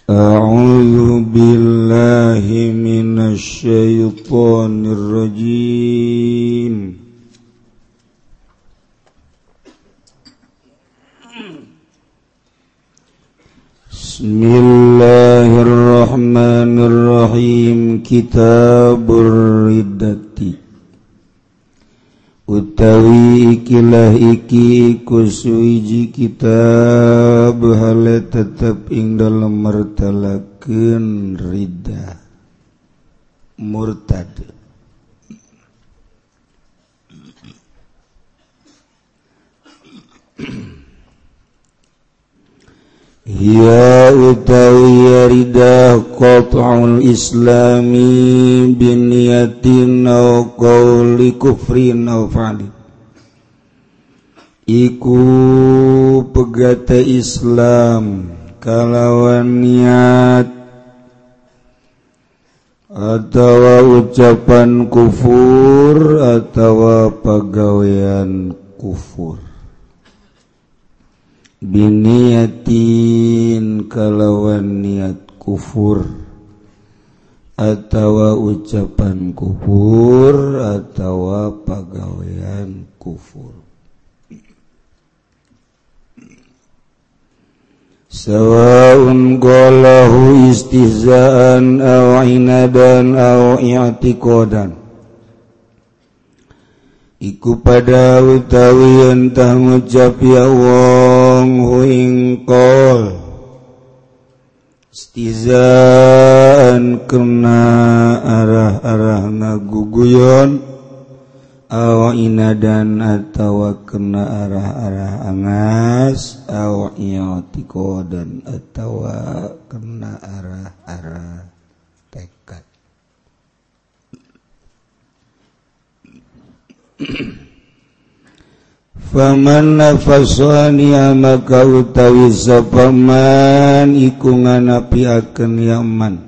A'udzu billahi minasy syaithanir rajim. Bismillahirrahmanirrahim. Kitabur riddati utawi ikilah iki kusuiji kitab hale tetep ing dalam mertalakeun riddah murtad. Ya utawi riddah qat'ul islami biniyatin aw qawli kufrin aw fa'li, iku pegata Islam kalawan niat atawa ucapan kufur atawa pagawean kufur. Biniyatin kalawan niat kufur atawa ucapan kufur atawa pagawean kufur. Sawaun qalahu istihzaan aw inadan aw i'tiqadan, iku pada utawi entah ngucap ya wong huing qol istihzaan kena arah-arah ngaguguyon, aw inadan atawa kena arah-arah angas, aw i'tiqadan atawa kena arah-arah tekad. Faman nafasani maka utawi sapaman iku nganapiakeun yaman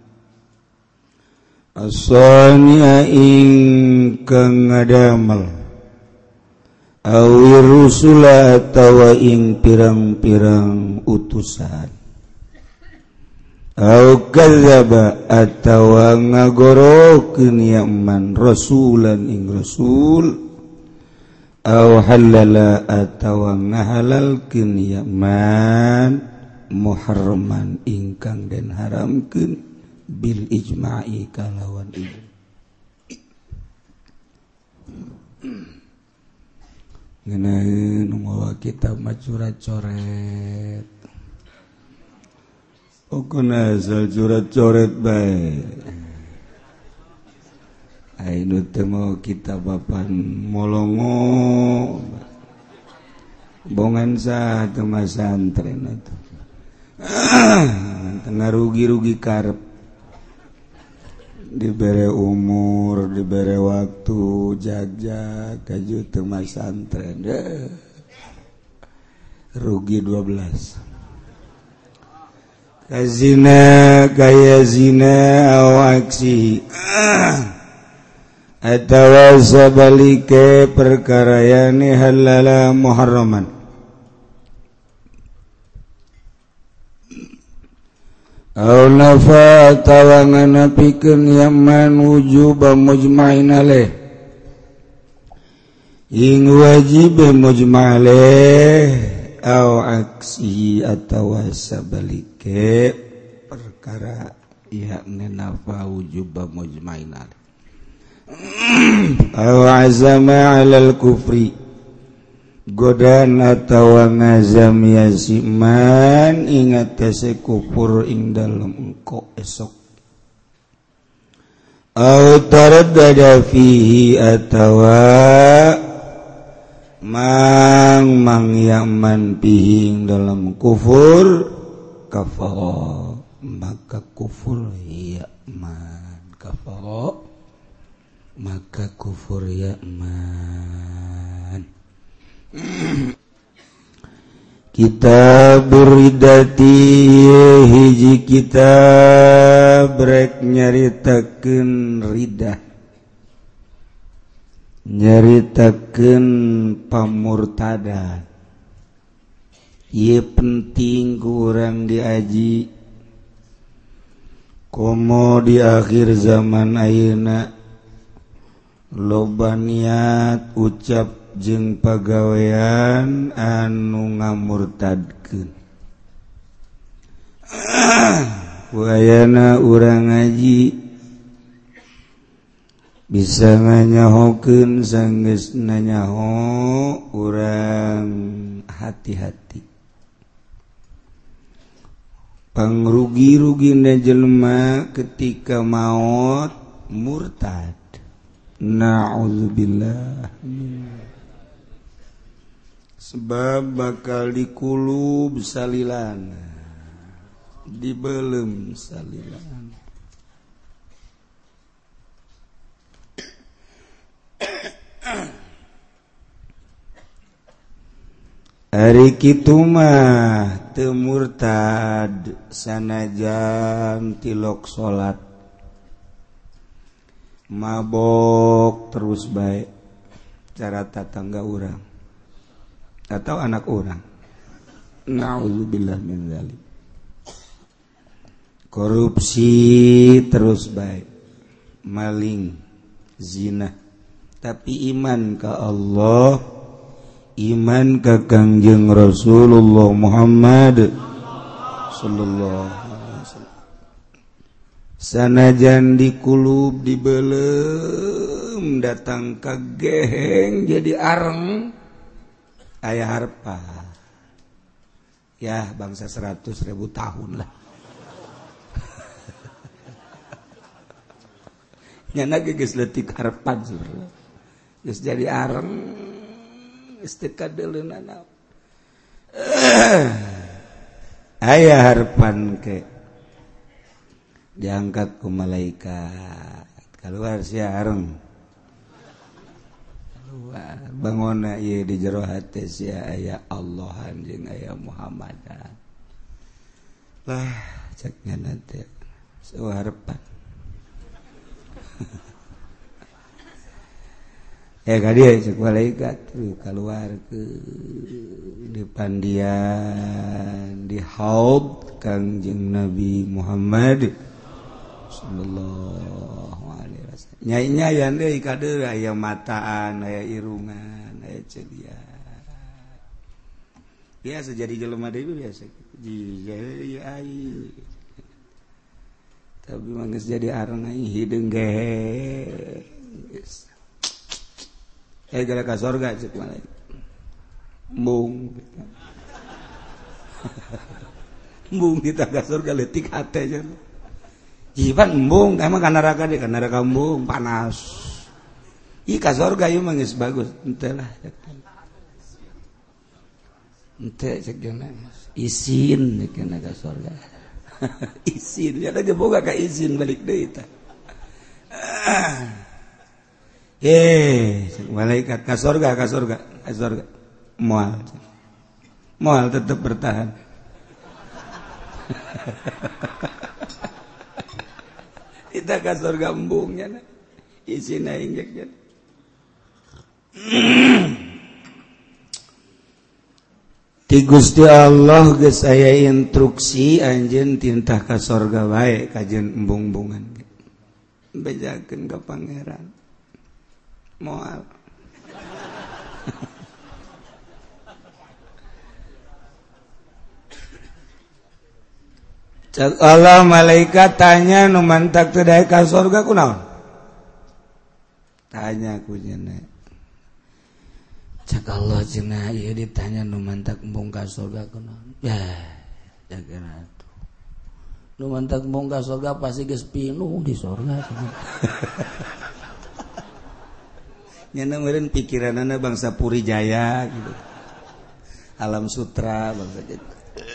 asania ing kang ngadamel awi rusula atawa ing pirang-pirang utusan, au kadzaba atawa ngagorokeun yaman rasulan ing rasul, au halala atawa ngahalalkeun yaman muharraman ingkang den haramkeun bil ijma'i kalawan ijma'. Ngeunaheun mawa kitab macurat coret. Pokona asal curat coret bae. Ainu teu mau kita papan molongo. Bongan sa teu masantren atuh. Tengah rugi-rugi karep. Dibere umur, dibere waktu, jag-jag kaju teu masantren. Rugi 12. Kazina kaya zina aw aksi atawa sabalike perkara yani halala muharraman, aw nafa atawa nganapikeun yaman wujuba mujma'in alaih ing wajib mujma' alaih, aw aksi atawa sabalike perkara yakni nafa wujuba mujma'in alaih, aw azama 'alal kufri godan atawa ngazam yasiman ingatase kufur ing dalem engko esok, aw taraddada fihi atawa mang yaman pihing dalam kufur, kafara maka kufur yaman, kafara maka kufur yaman. Kitabur riddati hiji kitab rek nyaritakeun riddah, nyaritakeun pamurtadan. Ieu penting ku urang diaji komo di akhir zaman ayeuna loba niat ucap jeung pagawean anu ngamurtadkeun. Wayana urang ngaji bisa nganyahokeun sanggeus nanyaho urang hati-hati. Pangrugi-rugina jelema ketika maut murtad. Na'udzubillah. Sebab bakal dikulub salilan, dibelem salilan. Ari kitu mah teu murtad sanajan tilok salat, mabok terus bae cara tatangga urang atau anak orang. Na'udzubillah min dzalik. Korupsi terus bae, maling, zina, tapi iman ka Allah, iman ka Kangjeng Rasulullah Muhammad sallallahu alaihi wasallam. Sanajan dikulub dibelem datang ka geheng jadi areng aya harpa. Ya bangsa 100.000 tahun lah. Nyana geus leutik harpan sebenarnya. Geus jadi areng istikadeulna. Aya harpan ke diangkat ku malaikat keluar sia areng keluar bangona ieu di jero hate sia aya Allahan jeung aya Muhammadan lah cek ngana teh sawarpan kadieu cek malaikat keluar ke di pandian di haud Kangjeng Nabi Muhammad sallallahu alaihi wasallam. Nyai-nyayan deui kadeul aya mataan, aya irungan, aya cedian. Biasa jadi jelema deui biasa. Jadi ai. Tapi mah geus jadi areng ai hideung gehe. Gara ka sorga cek malaikat. Embung. Embung kita ka sorga leutik hate cenah. Jiban embung, emang ka neraka deh, ka neraka embung panas. Ih ka sorga ieu mah geus bagus, henteu lah. Henteu cek jeung izin dikeun ka sorga. Izin, nya da boga ka izin balik deui tah. Cek malaikat ka sorga, moal. Moal tetap bertahan. Kita ka surga embungnya na isina injek. Ti Gusti Allah geus aya instruksi anjeun tintah ka surga bae kajeun embung-embungan. Bejakeun ka pangeran. Moal. Cak Allah malaikat tanya nu mantak teu daek ka surga kunaon? Tanya ku cenah. Cak Allah cenah ieu ditanya nu mantak embung ka surga kunaon? Ya, jageuna atuh. Nu mantak embung ka surga pasti geus pinuh di surga. Nyana meureun pikiranna bangsa Puri Jaya gitu. Alam Sutra bangsa gitu.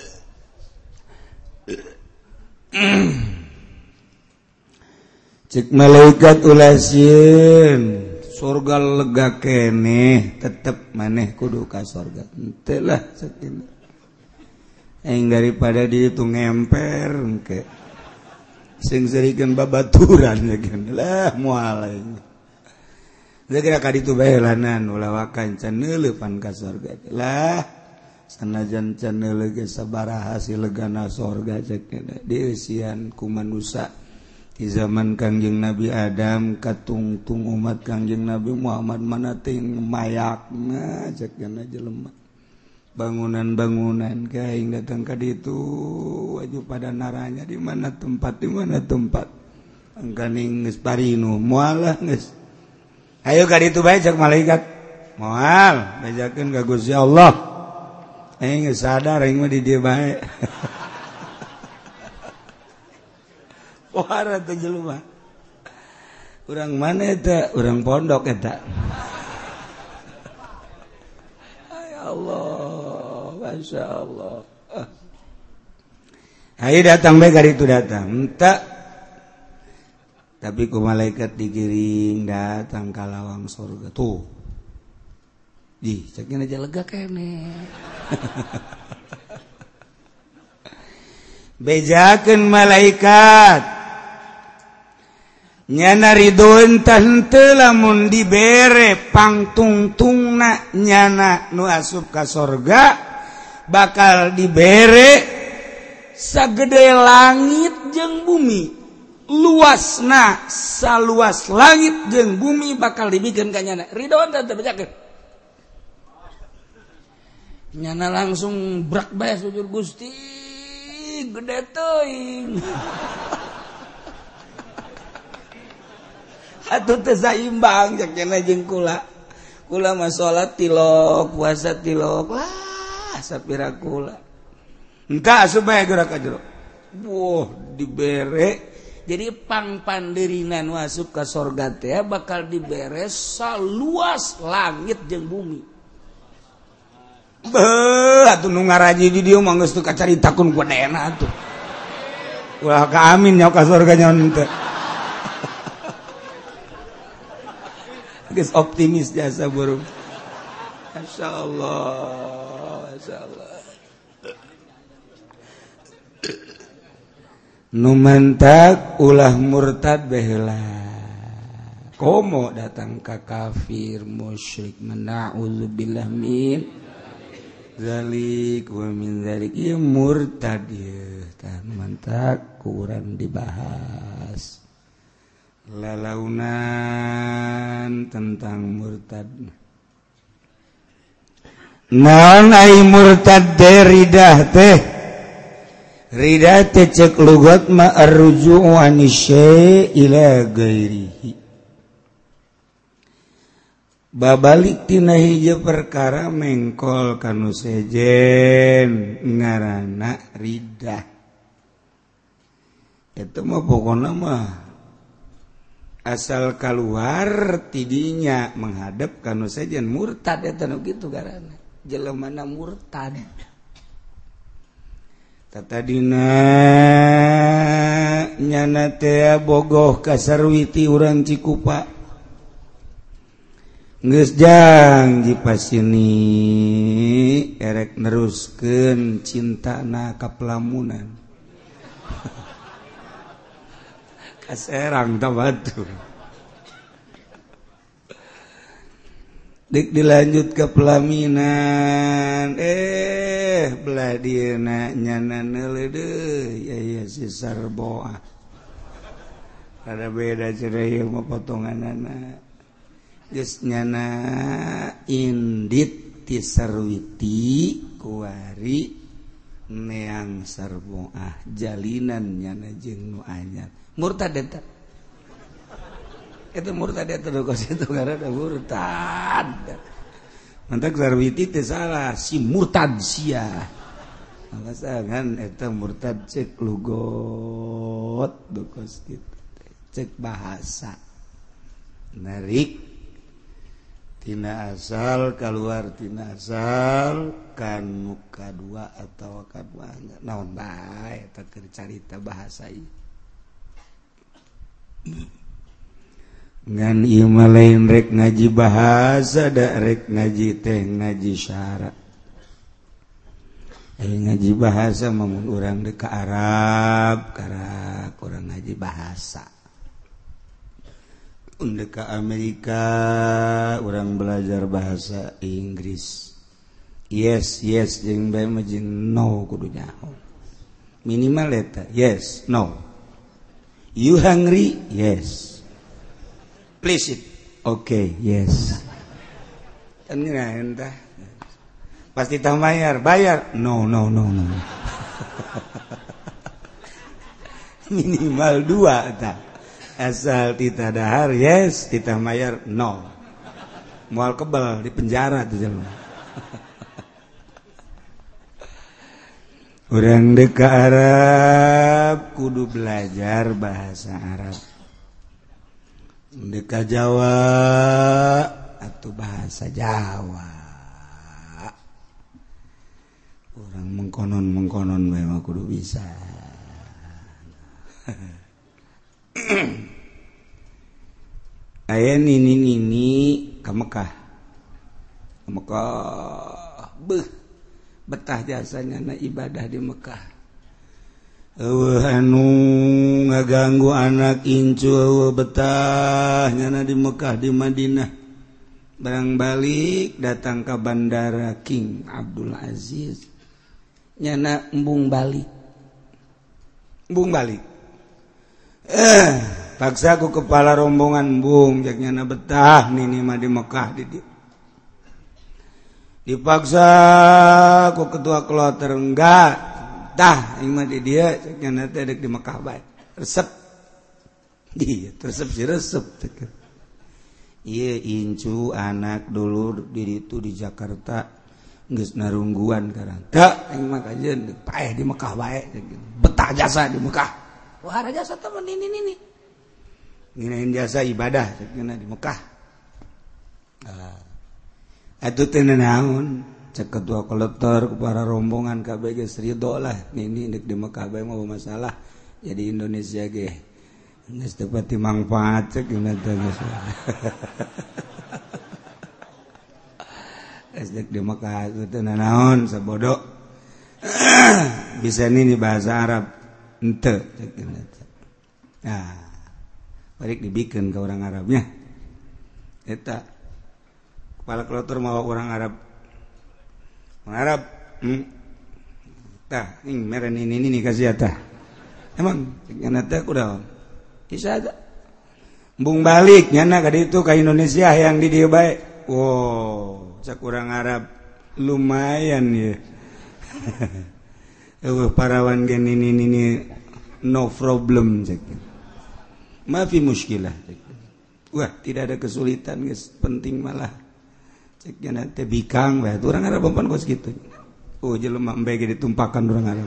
Cek malaikat ulah sieun surga lega keneh tetep maneh kudu ka surga henteu lah sakitu aing daripada di itu ngemper engke sing serikeun babaturan lah moal aing kira ka ditu bae lanan ulah wakan can neuleuh pan ka surga lah sanajan can neuleuh ge sabaraha hasil legana surga cek dieusian ku manusia di zaman Kangjeng Nabi Adam katungtung umat Kangjeng Nabi Muhammad mana ting mayakna cek kana jelema bangunan-bangunan kaing datang ka ditu waju pada naranya di mana tempat angkaning geus parinu moal geus ayo ka ditu bae cek malaikat moal bejakeun ka Gusti Allah aing geus sadar aing mah di dieu bae wara teh jelema. Urang mana eta? Urang pondok eta. Ya Allah, Masya Allah. Ayo datang bae ka ditu datang. Enta. Tapi ku malaikat digiring datang ka lawang surga. Tuh. Ih, cekin aja lega kene. Bejakeun malaikat nyana ridhoen tah henteu lamun dibere pangtungtungna nyana nu asup ka sorga bakal dibere sagede langit jeung bumi luasna saluas langit jeung bumi bakal dibikeun ka nyana ridhoen tah teu bejakeun nyana langsung brak bae sujud Gusti gede teuing atuh teu saimbang cek cenah jeung kula mah salat tilok puasa tilok lah sapira kula engka asup bae geura ka jero wah dibere jadi pangpandeurina nu asup ka sorga teh bakal dibere saluas langit jeung bumi beuh atuh nu ngaraji di dieu mah geus teu kacaritakeun ku dena atuh ulah ka amin nya ka sorga nyaon teh geus optimis jasa burung. Masyaallah, masyaallah. Nu mantak ulah murtad baheula. Komo datang ka kafir musyrik na'udzubillah min zalik wa min zalik ieu murtad ieu tah mantak kurang dibahas. Lalaunan tentang murtad. Naon ai murtad ridah teh? Ridah teh cek lugat ma arruju' an syai' ila ghairihi. Babalik tina hiji perkara mengkol kanu sejen ngaranna ridah. Eta mah pokona mah asal keluar tidinya menghadap kanu sejen murtad eta nu kitu garana jelemana murtad tatadina nyana teh bogoh ka sarwiti urang Cikupa geus jang dipasini erek neruskeun cintana ka pelamunan kaserang tah batu dik dilanjut ke pelaminan belah dieuna nyana neuleuh deui ya si sarboah ada beda cenah ieu mah potonganana geus nyana indit ti sarwiti kuari neang sarboah jalinan nyana jeung nu anyar murtad eta itu murtad eta kos itu karena murtad mantak sarwiti teh salah si murtad sia alasan eta murtad cek lugot kos kitu cek bahasa narik tina asal keluar tina asal kanu kadua atau kadua naon bae eta keur carita bahasa ieu ngan ieu mah lain rek ngaji bahasa da rek ngaji teh ngaji syara ngaji bahasa mah mun urang deuk ka Arab karak urang ngaji bahasa mun deuk ka Amerika urang belajar bahasa Inggris yes jeung bae mah jeung no kudu nyaho minimal eta yes no You hungry? Yes. Please eat. Okay, yes. Kan entah. Pasti tak bayar. No. Minimal 2 tak. Asal tita dahar yes, tita bayar no. Moal kebal di penjara tuh jelema. Urang dek ka Arab kudu belajar bahasa Arab. Dek ka Jawa atuh bahasa Jawa. Urang mengkonon bae mah kudu bisa. Aya nini ka Mekah. Betah jasanya na ibadah di Mekah. Anu ngaganggu anak incu betah nyana di Mekah di Madinah. Barang balik datang ke bandara King Abdul Aziz. Nyana embung balik. Paksa aku kepala rombongan embung jak nyana betah nini mah di Mekah di dipaksa ku ketua kloter enggak tah imah di dia cenah teh di Mekah bae resep ieu incu anak dulur di ditu di Jakarta geus narungguan karang teu aing mah kajeun paeh di Mekah bae betah jasa di Mekah wah jasa teh ini nginain jasa ibadah cenah di Mekah. Atuh teh naon cek ketua kolektor para rombongan kabeh geus ridho lah ini dek di Mekah bae mah masalah jadi Indonesia ge geus teu pati mangfaat cek gimana teh geus dek di Mekah teh naon sabodo bisa nini bahasa Arab henteu cek gimana teh nah balik dibikeun ke orang Arabnya eta kepala kloter mau orang Arab. Tah, meren ini kasih tah. Emang nyana teh kudaon? Bisa aja. Embung balik nyana ka ditu ka Indonesia yang di dieu bae. Wow, cak urang Arab lumayan ya. Parawan gen ini no problem cak. Maafi muskilah cak. Wah, tidak ada kesulitan guys, penting malah cek jana teh bikang bae urang Arab umpan kos kitu. Oh jelema embe ge ditumpakan urang Arab.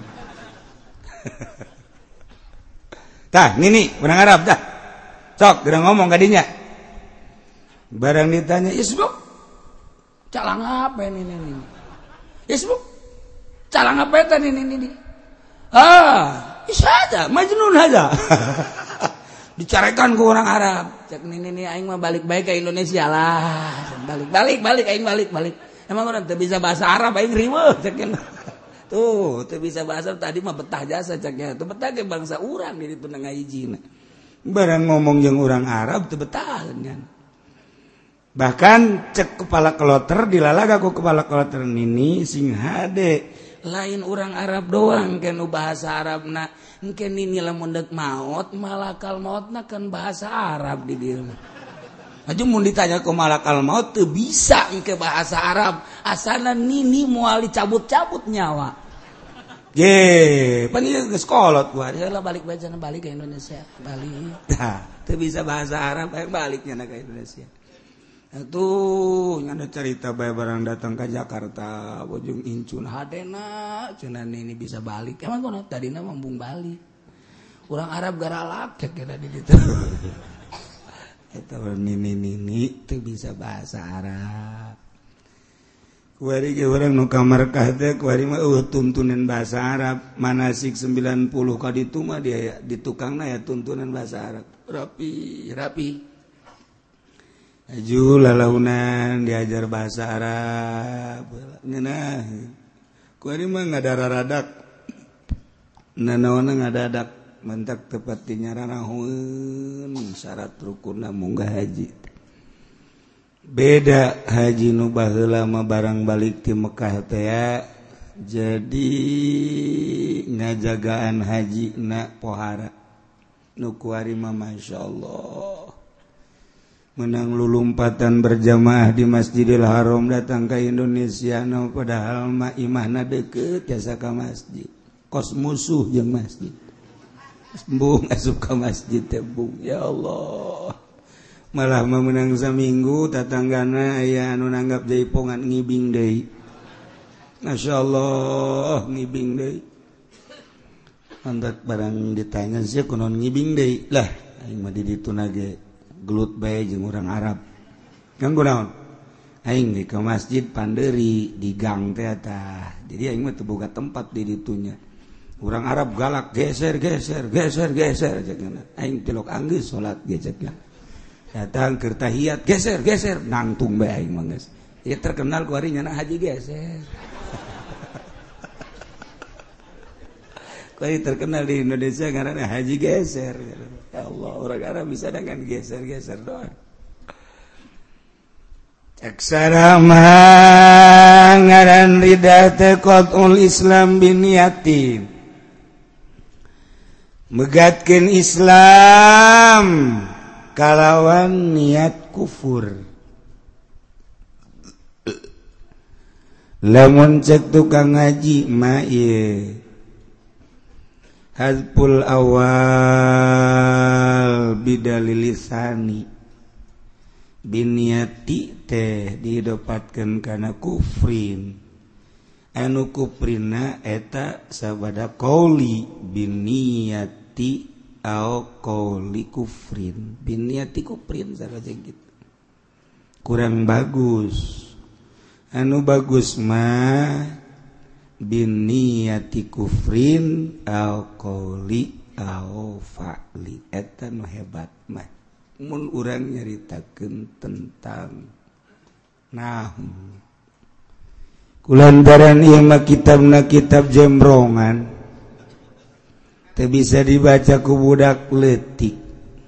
Tah, nini urang Arab dah. Sok geura ngomong ka dinya. Barang ditanya, "Isbuk, calang apa ini?" "Isbuk, calang apa eta ini?" Isa aja, Majnun aja. Dicarekan ke orang Arab cek ini aing mah balik baik ke Indonesia lah balik aing balik emang orang teu bisa bahasa Arab aing riweuh cek tuh teu bisa bahasa tadi mah betah jasa ceknya teu betah ke bangsa urang di ditu ngahijina barang ngomong jeung urang Arab teu betah kan bahkan cek kepala kloter dilalaga ku kepala kloter nini sing hade lain orang Arab doang kan bahasa Arabna engke nini lamun deuk maot malakal mautna kan bahasa Arab di dieu mah aju mun ditanya ku malakal maut teu bisa engke bahasa Arab asalna nini moal dicabut-cabut nyawa pan ieu geus kolot gua lah balik bae cenah balik ke Indonesia balik tah teu bisa bahasa Arab balik nya ka Indonesia. Tuh nyana cerita bae barang datang ke Jakarta bojong incun hadena cenah ini bisa balik emang kono tadina mambung balik urang Arab garalak cek kira di ditu eta nini teu bisa bahasa Arab kuari ge urang nu ka markah teh kuari mah tuntunan bahasa Arab manasik 90 ka ditu mah dia di tukangna ya tuntunan bahasa Arab rapi aju lalaunan diajar bahasa Arab ngeunah kuari mah ngadara-radak nanaonna ngadadak mentak tepat dinyaranaheun syarat rukunna munggah haji beda haji nu baheula mah barang balik ti Mekah teh ya jadi ngajagaan haji na pohara nukuarima Masya Allah menang lulumpatan berjamaah di Masjidil Haram datang ke Indonesia padahal mah imahna deket jasa ke masjid kos musuh jeung masjid bung asup ke masjid teh bung ya Allah malah menang saminggu tatanggana aya anu nanggap jaipongan ngibing deui Masya Allah ngibing deui andak barang ditanya sih kunon ngibing deui lah aing mah di ditu nage gelut bae jeung urang Arab kan kunaon aing ke masjid Panderi di gang teh tah jadi aing mah teu boga tempat di ditunya urang Arab galak geser aing telok anggeus salat gecekna datang keur tahiyat geser nangtung bae aing mah geus ieu terkenal ku ari nyana haji geser Kali terkenal di Indonesia karena haji geser. Ya Allah, orang Arab bisa dengan geser-geser doang. Caksarama ngaran rida teh qat'ul Islam biniyatin. Megatkeun Islam kalawan niat kufur. Lamun cek tukang ngaji mah ieu Hazpul awal bidalil lisani biniati teh didapatkeun kana kufrin anu kufrina eta sabada qauli biniati au qauli kufrin biniati kufrin saraja gitu kurang bagus anu bagus mah biniyati kufrin au qauli au fa'li eta nu hebat mah mun urang nyaritakeun tentang nahu kulantaran ieu mah kitabna kitab jembrongan teu bisa dibaca ku budak leutik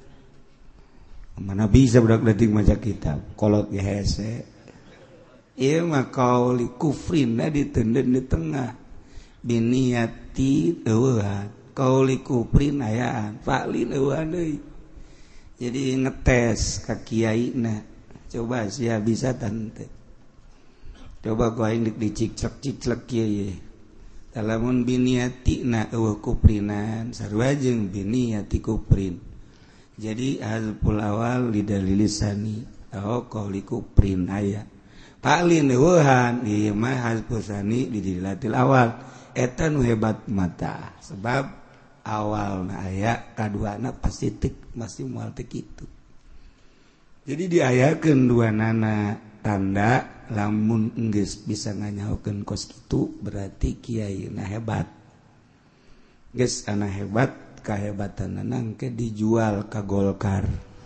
mana bisa budak leutik maca kitab kolot ge hese ieu mah qauli kufrinna diteuneun di tengah biniyati eueuhan qauli kufrin ayaan fa'lin eueuhan deui jadi ngetes ka kiaina coba sia bisa tante coba ku aing diciclek kieu lamun biniyatina eueuh kufrinan sarua jeung biniyati kufrin jadi hazful awal lidalil lisani qauli kufrin aya Paling neueuhan ieu mah hazfusani di dilatil awal eta nu hebat mata sebab awalna aya kaduana pasti masih moal teh kitu. Jadi diayakeun duanana tanda lamun geus bisa nganyahokeun kos kitu berarti kiaina hebat. Geus ana hebat kahebatanna engke dijual ka Golkar.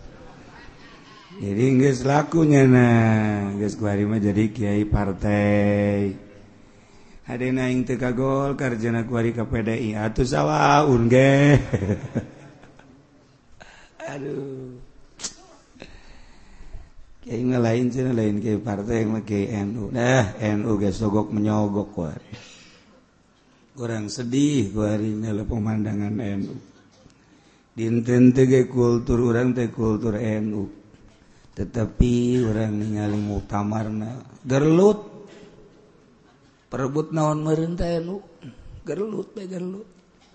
Jadi geus lakunya geus kuari mah jadi kiai partai. Hadena aing teu ka Golkar cenah kuari ka PDI atuh sawaun ge. Aduh. Kiai lain cenah lain kiai partai mah kiai NU. Dah NU geus sogok menyogok kuari. Kurang sedih kuari nela pemandangan NU. Dinten teh ge kultur urang teh kultur NU. Tetapi orang ningali muktamarna gerlut perebut naon meureun teh anu gerlut bae gerlut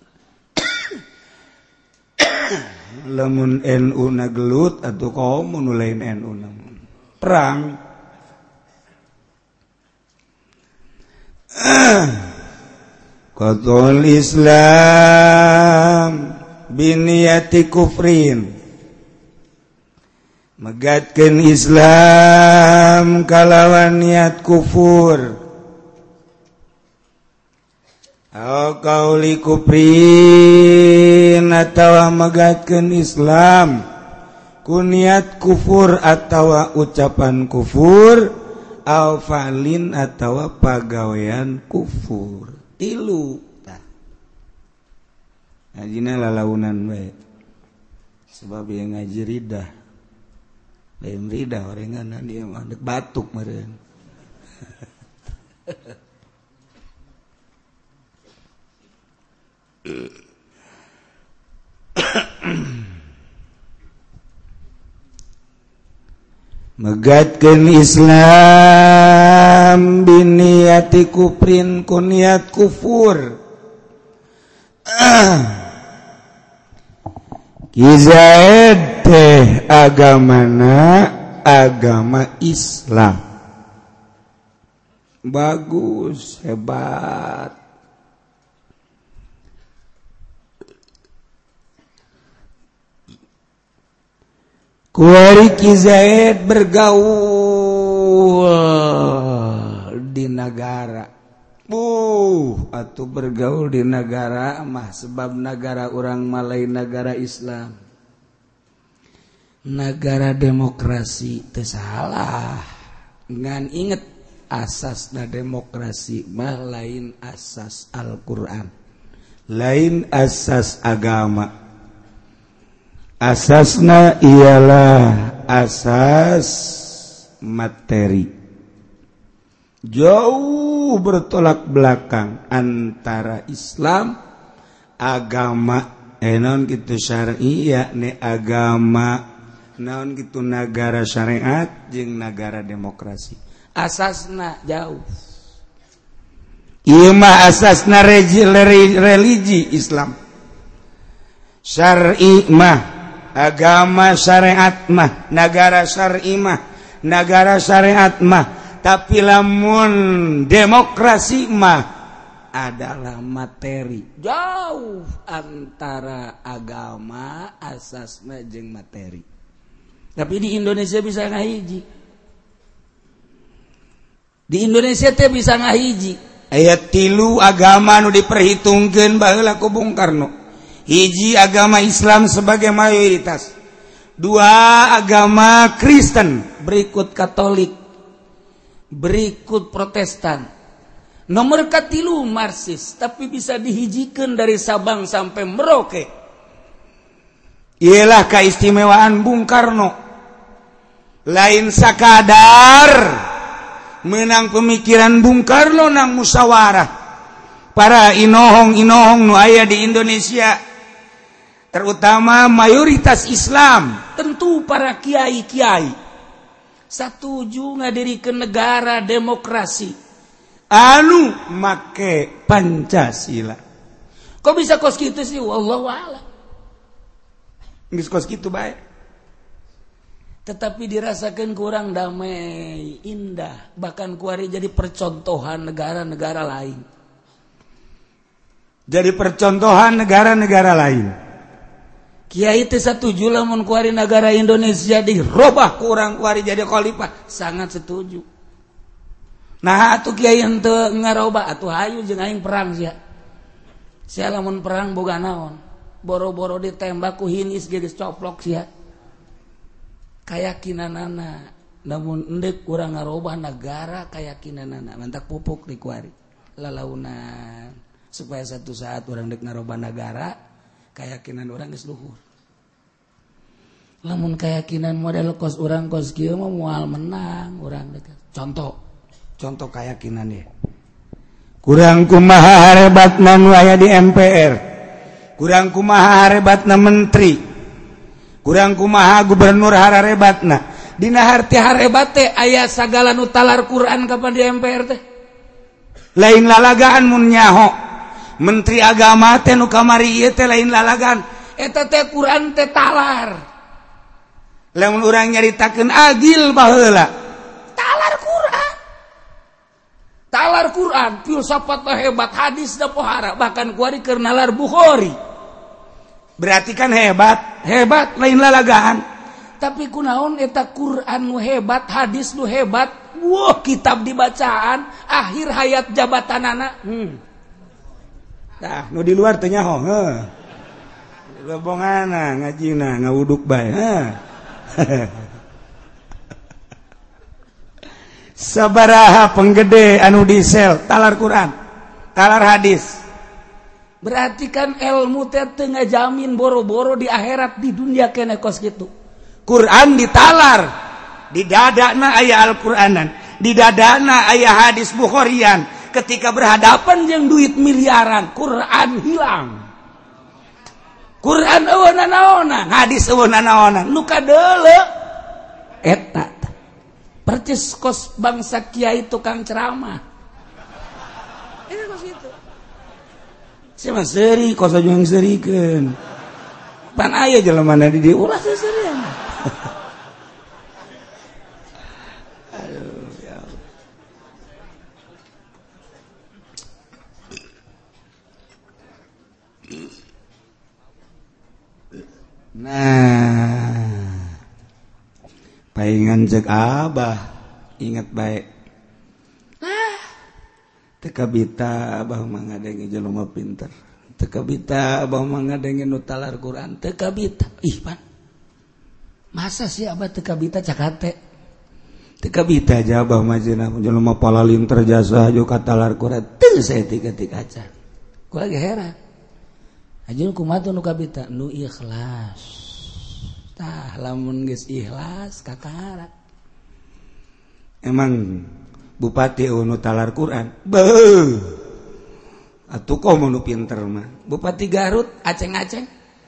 lamun NU na gelut atuh kaum nu lain NU na perang qat'ul Islam biniyati kufrin megatkeun Islam kalawan niat kufur au qauli kufrin atawa megatkeun Islam ku niat kufur atawa ucapan kufur au fa'lin atawa pagawean kufur tilu tah ngajina lalaunan bae sebab yang ngaji ridah lain rida orengan dia mah dek batuk meureun. megatkeun Islam biniati kufrin ku niat kufur. Ki Zaid teh agamana agama Islam. Bagus, hebat. Kuari Ki Zaid bergaul di negara. Atuh bergaul di negara mah sebab negara orang Malay negara Islam. Negara demokrasi teu salah. Ngan inget asasna demokrasi mah lain asas Al-Qur'an. Lain asas agama. Asasna ialah asas materi. Jauh bertolak belakang antara Islam agama naon kitu syar'i yakni agama naon kitu negara syariat jeung negara demokrasi. Asasna jauh. Ieu mah asasna religi Islam. Syar'i mah agama syariat mah negara syar'i mah negara syariat mah. Tapi lamun demokrasi mah adalah materi. Jauh antara agama asasna jeung materi. Tapi di Indonesia bisa ngahiji. Di Indonesia teh bisa ngahiji. Aya 3 agama nu diperhitungkeun baheula ku Bung Karno. Hiji agama Islam sebagai mayoritas. 2 agama Kristen, berikut Katolik, berikut Protestan. Nomor katilu Marxis, tapi bisa dihijikeun dari Sabang sampai Merauke. Ialah keistimewaan Bung Karno. Lain sakadar menang pemikiran Bung Karno nang musyawarah. Para inohong-inohong nu aya di Indonesia, terutama mayoritas Islam, tentu para kiai-kiai, satuju ngadirikeun negara demokrasi anu make Pancasila. Kok bisa kos kitu sih? Wallahu a'lam. Geus kos kitu bae. Tetapi dirasakan kurang damai, indah, bahkan kuari jadi percontohan negara-negara lain. Jadi percontohan negara-negara lain. Kiai teh setuju lamun kuari negara Indonesia dirobah kurang kuari jadi khalifah, sangat setuju. Nah atuh kiai henteu ngarobah atuh hayu jeung aing perang sia. Sia lamun perang boga naon? Boro-boro ditembak ku hinis geus coplok sia. Kayakinanana namun endek urang ngarobah negara kayakinanana mantak pupuk di kuari lalaunan supaya satu saat urang dek ngarobah negara keyakinan urang geus luhur. Lamun keyakinan model kos urang kos kieu mah moal menang urang dek. Contoh keyakinan ya. Kurang kumaha harebatna nu aya di MPR. Kurang kumaha harebatna menteri. Kurang kumaha gubernur harebatna. Dina harti harebat teh aya sagala nu talar Quran kapan di MPR teh. Lain lalagaan mun nyaho. Menteri agama teh nu kamari ieu teh lain lalagaan. Eta teh Quran teh talar. Lamun urang nyaritakeun agil baheula. Talar Quran. Talar Quran, filsafat hebat, hadis da pohara, bahkan kuari keur nalar Bukhari. Berarti kan hebat lain lalagaan. Tapi kunaon eta Quran nu hebat, hadis nu hebat, wah kitab dibacaan akhir hayat jabatanana. Tah nu di luar teh nyaho, heuh. Lobongana ngajina ngawuduk bae, sabaraha penggede anu disel talar Quran, talar hadis. Berarti kan ilmu teh teu ngajamin boro-boro di akhirat, di dunia kene kos kitu. Quran ditalar, di dadana aya Al-Qur'anan, di dadana aya hadis Bukharian. Ketika berhadapan jeung duit miliaran, Quran hilang. Quran eueuh nanaonan hadis eueuh nanaonan nu kadeuleu eta percis kos bangsa kiai tukang ceramah eta kos itu sia mah seuri kos aju yang seurikeun pan aya jelemana di dieu ulah seurian nah paingan cek abah ingat baik teka bita abah mah ngadenge jelema pinter teka bita abah mah ngadenge nu talar Quran teka bita ih pan masa sih abah teka bita cakate teka bita aja abah mah cenah jelema palalim terjasa aju katalar Quran teu saeutik acan kula ge heran ajun kumaha nu kabita nu ikhlas tah lamun geus ikhlas kakara emang bupati nu talar Quran beuh atuh komo nu pinter mah bupati Garut aceng-aceng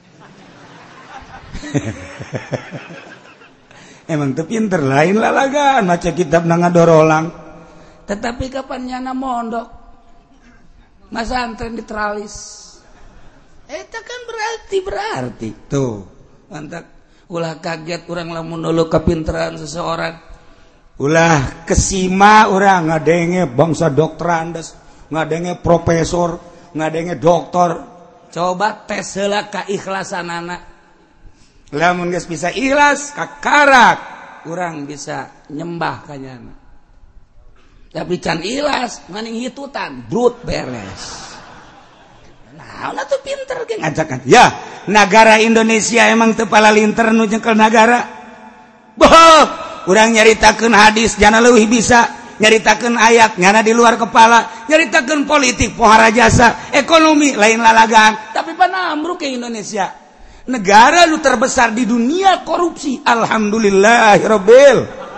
emang teu pinter lain lalagan maca kitab na ngadorolang tetapi kapan nyana mondok masa antren di teralis eta kan berarti tuh mantap ulah kaget urang lamun nuluh kapinteran seseorang ulah kesima urang ngadenge bangsa dokterandes ngadenge profesor ngadenge doktor coba tes heula keikhlasanana lamun geus bisa ikhlas kakarak urang bisa nyembah ka nyana tapi can ikhlas maning hitutan brut beres. Nah, tuh pinter ge ngajakan. Ya, negara Indonesia emang teu palalinter nu jengkel negara. Boh, urang nyaritakeun hadis jana leuwih bisa, nyaritakeun ayat nyana di luar kepala, nyaritakeun politik pohara jasa, ekonomi lain lalagan, tapi panambruk ke Indonesia. Negara nu terbesar di dunia korupsi. Alhamdulillahirabbil.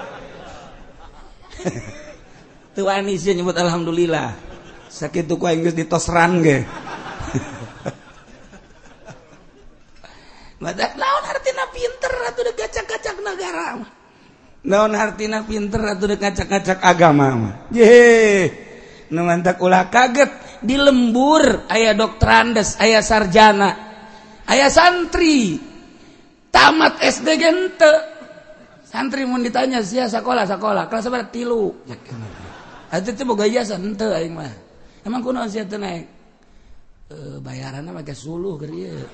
Teu wani sih nyebut alhamdulillah. Sakitu ku aing geus ditosran ge. Naon hartina pinter atuh dek gacak-gacak negara mah. Naon hartina pinter atuh dek gacak-gacak agama mah. Ye. Nu mantak ulah kaget di lembur aya dokterandes, aya sarjana, aya santri. Tamat SD ge henteu. Santri mun ditanya sia sakola kelas berapa 3. Atuh teh boga ijazah henteu aing mah. Emang kunaon sia teu naik? Bayaranna make suluh keur ieu.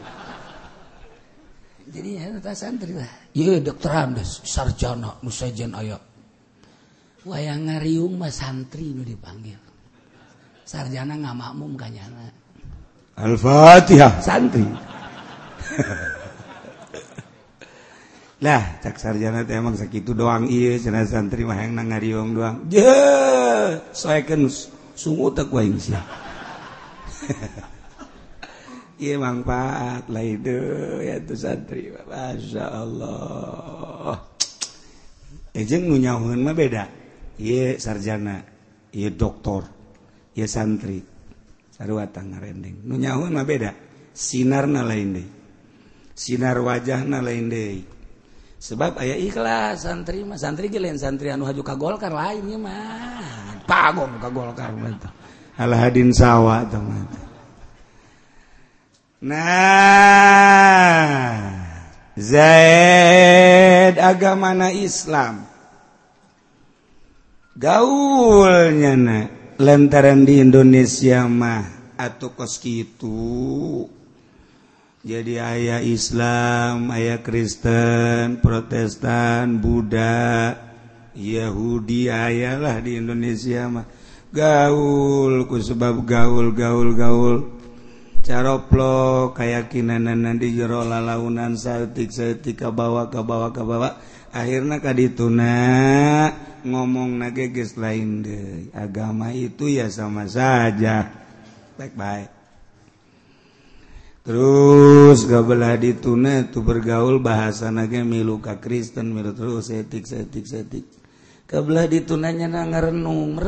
Jadi ya santri lah. Ye dokterandes, sarjana nu sejen aya. Wayang ngariung mah santri nu dipanggil. Sarjana ngamakmum ka nyana. Al-Fatihah santri. Lah, cak sarjana teh emang sakitu doang ieu cenah santri mah hayang ngariung doang. Je, soekeun sungu teh ku aing sia. Iya manfaat lah itu ya tu santri, masya Allah. Ejeng nu nyahoeun mah beda. Iya sarjana, iya doktor, iya santri, sarua ngarendeng. Nu nyahoeun mah beda. Sinarna lain deui, sinar wajahna lain deui. Sebab aya ikhlas santri mah, santri ge lain santri anu haju ka Golkar lain ieu mah. Pagong ka Golkar mah tah. Alhadin sawa tah mah. Nah, Zaid agamana Islam. Gaulnya na lantaran di Indonesia mah atuh kos kitu. Jadi aya Islam, aya Kristen, Protestan, Buddha, Yahudi ayalah di Indonesia mah. Gaul ku sebab gaul caroplo keyakinanana di jero lalaunan saeutik ka bawa akhirna kadituna ngomongna ge geus lain deui agama itu ya sama saja baik-baik terus gabelah dituna tu bergaul bahasana ge milu ka Kristen milu terus etik kabelah ditunanya ngarenung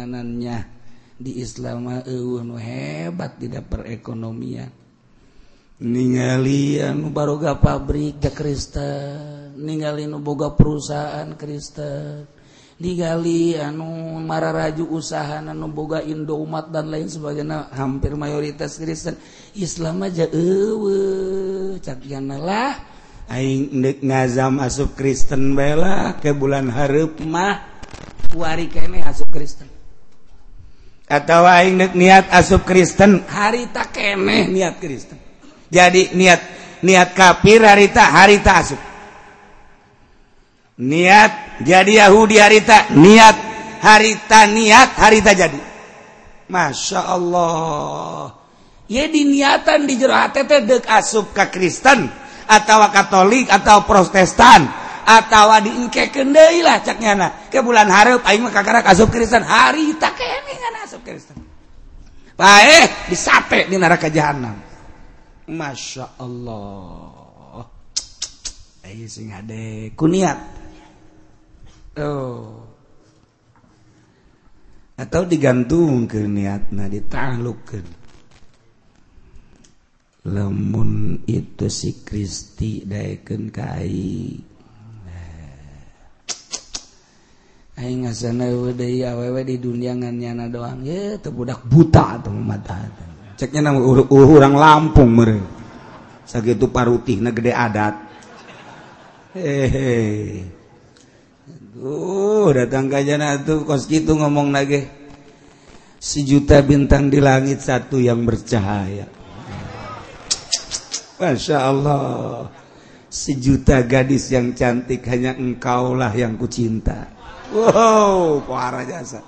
gorenganannya di Islam eueuh nu hebat di perekonomian ningali anu baroga pabrik ke Kristen, ningali nu boga perusahaan Kristen, ningali anu mararaju usaha anu boga Indomaret dan lain sebagainya, hampir mayoritas Kristen. Islam aja eueuh cak lah aing neuk ngazam asup Kristen bae lah ke bulan hareup mah kuari keneh asup Kristen. Atau aing neuk niat asup Kristen harita keneh niat Kristen. Jadi niat kafir harita asup. Niat jadi Yahudi harita harita jadi. Masya Allah. Ya diniatan di jero hate teh deuk asup ka Kristen atawa Katolik atau Protestan atawa diengkekeun deui lah cak nyana. Ke bulan hareup aing mah kakarak asup Kristen harita keneh ngan asup Kristen. Bae disape di neraka jahanam. Masya Allah. Ayo sing ade kuniat. Oh. Atau digantungkeun niatna ditaklukkeun. Lamun itu si Kristi daekeun ka aing. Aing ngasana deui awewe di dunia ngan nyana doang. Ye teu budak buta atuh mata. Ceknya nama urang Lampung mere. Sakitu parutihna gede adat. Datang ka jana tuh kos kitu ngomong nage. 1 juta bintang di langit satu yang bercahaya. Masya Allah. 1 juta gadis yang cantik hanya engkaulah yang kucinta. Wow, parah jasa.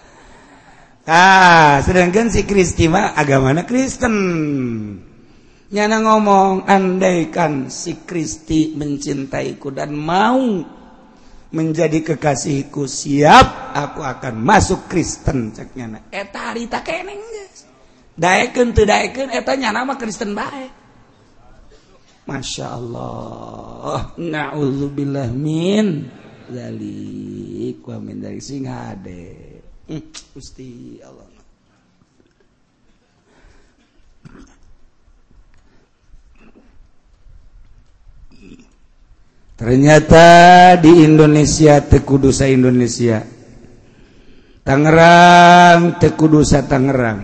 Sedangkan si Kristi mah agamana Kristen. Nyana ngomong, andaikan si Kristi mencintaiku dan mau menjadi kekasihku, siap aku akan masuk Kristen cek nyana. Eta harita keneng geus. Daekeun teu daekeun eta nyana mah Kristen bae. Masya Allah. Na'udzubillah min zalik wa min dzalik sing hade. Gusti Allah. Ternyata di Indonesia teu kudu sa Indonesia. Tangerang teu kudu sa Tangerang.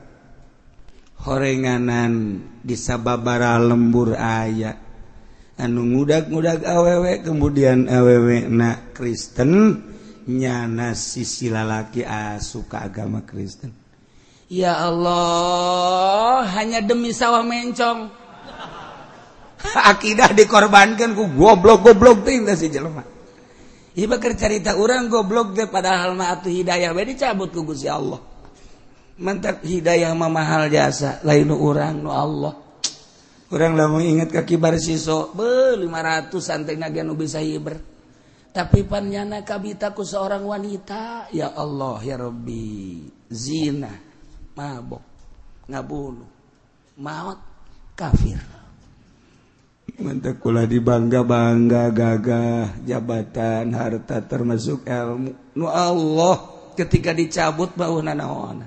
Horenganan di sababaraha lembur aya anu ngudag-ngudag awewe kemudian awewe na Kristen. Nyana sisi lalaki suka agama Kristen. Ya Allah, hanya demi sawah mencong. Akidah dikorbankan ku goblok-goblok teh si jelema. Ieu bakal carita urang goblok teh padahal mah atuh hidayah we dicabut ku Gusti Allah. Mantap hidayah mah mahal jasa, lain nu urang nu Allah. Urang lamun inget ka kibar siso, 500 santai nage nu bisa hiber. Tapi panjana kabitaku seorang wanita, ya Allah ya Rabbi, zina, mabok, ngabunuh, maut, kafir. Mantap kula dibangga-bangga gagah jabatan harta termasuk ilmu. Nu Allah ketika dicabut bauna naon.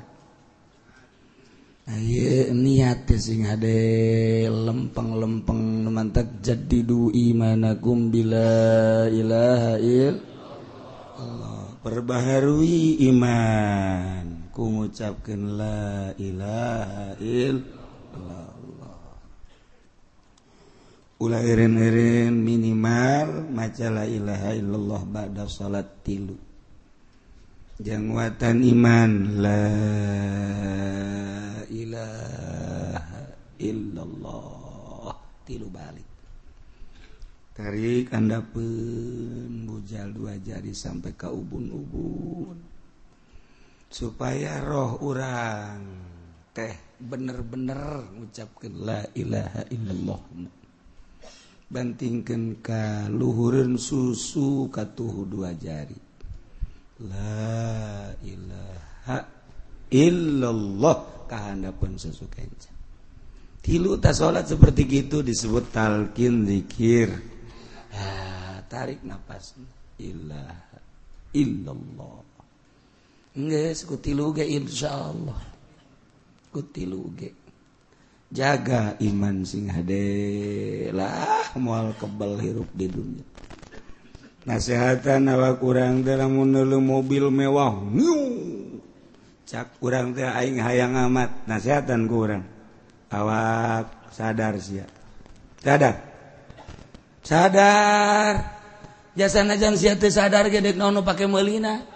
Aye niat sing ade lempeng-lempeng mantap jaddidu imanakum bila ilaha illallah. Perbaharui iman ku ngucapkeun la ilaha illallah. Ulah eren-eren minimal maca la ilaha illallah ba'da salat 3. Jangwatan iman la ilaha illallah 3 balik. Tarik handapeun bujal 2 jari sampai ka ubun-ubun. Supaya roh urang teh bener-bener ngucapkeun la ilaha illallah. Bantingkeun ka luhureun susu katuhu 2 jari. La ilaha illallah kahandapeun susu kenca. 3 ta salat seperti gitu disebut talqin zikir. Tarik napas. Ilaha illallah. Geus ku 3 ge insyaallah. Ku 3 ge. jaga iman sing hade lah moal kebal hirup di dunia. Nasihatan awak kurang teh lamun neuleuh mobil mewah cak kurang teh aing hayang amat nasihatan ku urang awak sadar sia sadar jasa najan sia teu sadar ge dek naon pake meulina.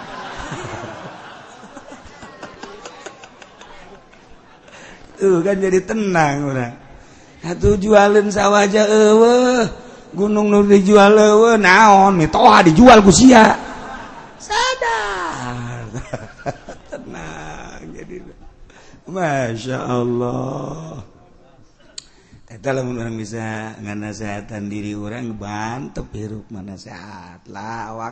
Tuh kan jadi tenang orang. Atuh jualin sawaja eueuh. Gunung nu dijual eueuh naon mitoha dijual ku sia. Sadar. Tenang jadi. Masya Allah. Eta lamun urang bisa nganasehatan diri urang bantep hirup manasehat lah awak.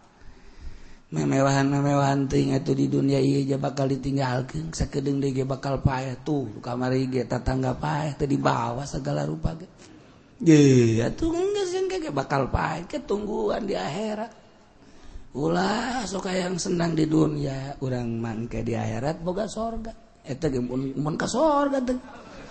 Memewahan ting atuh di dunia ieu ja bakal ditinggalkeun sakedeung deui ge bakal paeh tuh kamari ge tatangga paeh teu dibawa segala rupa ge. Ge atuh geus ge bakal paeh ketungguan di akhirat. Ulah sok hayang senang di dunia urang mangke di akhirat boga sorga. Eta ge mun ka sorga teh.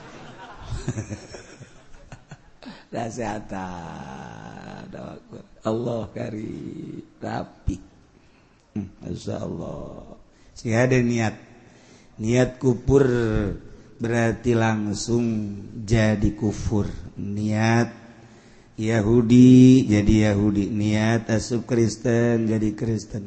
Nasihatan Allah karim rapi. Masya Allah. Si ada niat kufur berarti langsung jadi kufur. Niat Yahudi jadi Yahudi, niat asup Kristen jadi Kristen,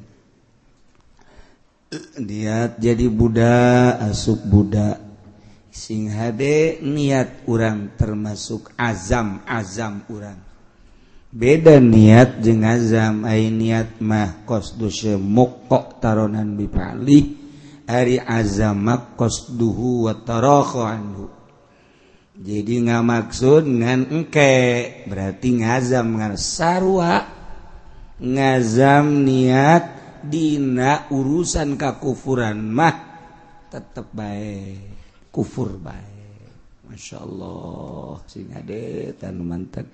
niat jadi Buddha asup Buddha. Sing hade niat urang termasuk azam urang. Beda niat jeung azam. Ai niat mah qasdu syemuk taronan bipali ari azam mah qasduhu wa tarakha anhu. Jadi ngamaksud ngan engke berarti ngazam ngan sarua ngazam niat dina urusan kakufuran mah tetep bae kufur bae. Masyaallah sing ade tan mantap.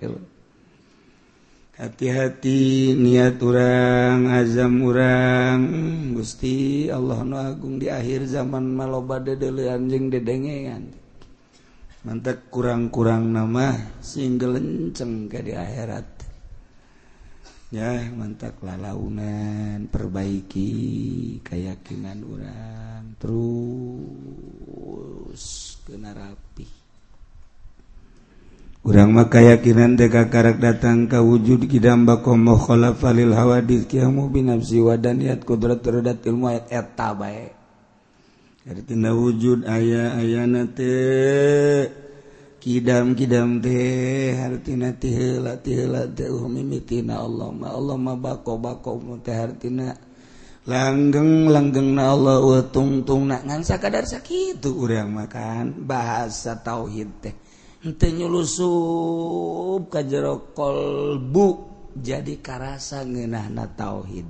Hati-hati niat urang, azam urang. Gusti Allah nu agung di akhir zaman maloba dedeleuan jeung dedengean. Mantap kurang-kurang nama sing gelenceng ke di akhirat. Ya, mantap lalaunan perbaiki keyakinan urang terus kena rapi. Urang mah keyakinan teh kakarak datang ka wujud kidam bakom khalafa lil hawadits qiyamu bi nafsi wa daniyat qudrat terdat ilmu eta bae. Artina wujud aya-ayana teh kidam teh artina teh heula teh mimitina Allah mah bako teh artina langgengna Allah wa tungtungna ngan sakadar sakitu urang makan bahasa tauhid teh. Henteu nyulusup ka jero kolbu jadi karasa ngeunahna tauhid.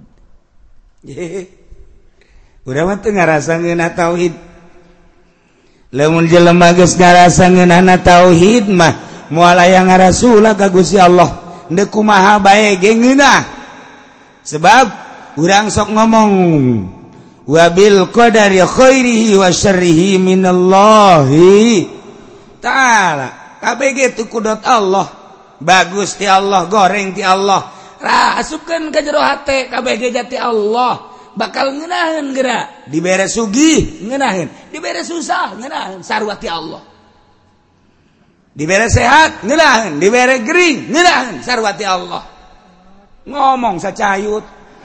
Urang mah teu ngarasa ngeunah tauhid. Lamun jelema geus ngarasa ngeunahna tauhid mah moal aya ngarasula ka Gusti Allah, henteu kumaha bae ge ngeunah. Sebab urang sok ngomong wa bil qadari khairihi wa syarrihi minallahi ta'ala. Kabeh ge teu kudot Allah, bagus ti Allah, goreng ti Allah. Rasupkeun ka jero hate kabeh ge jati Allah, bakal ngeunaheun geura. Dibere sugih ngeunaheun, dibere susah ngeunaheun, sarua ti Allah. Dibere sehat ngeunaheun, dibere gering ngeunaheun, sarua ti Allah. Ngomong sacayut.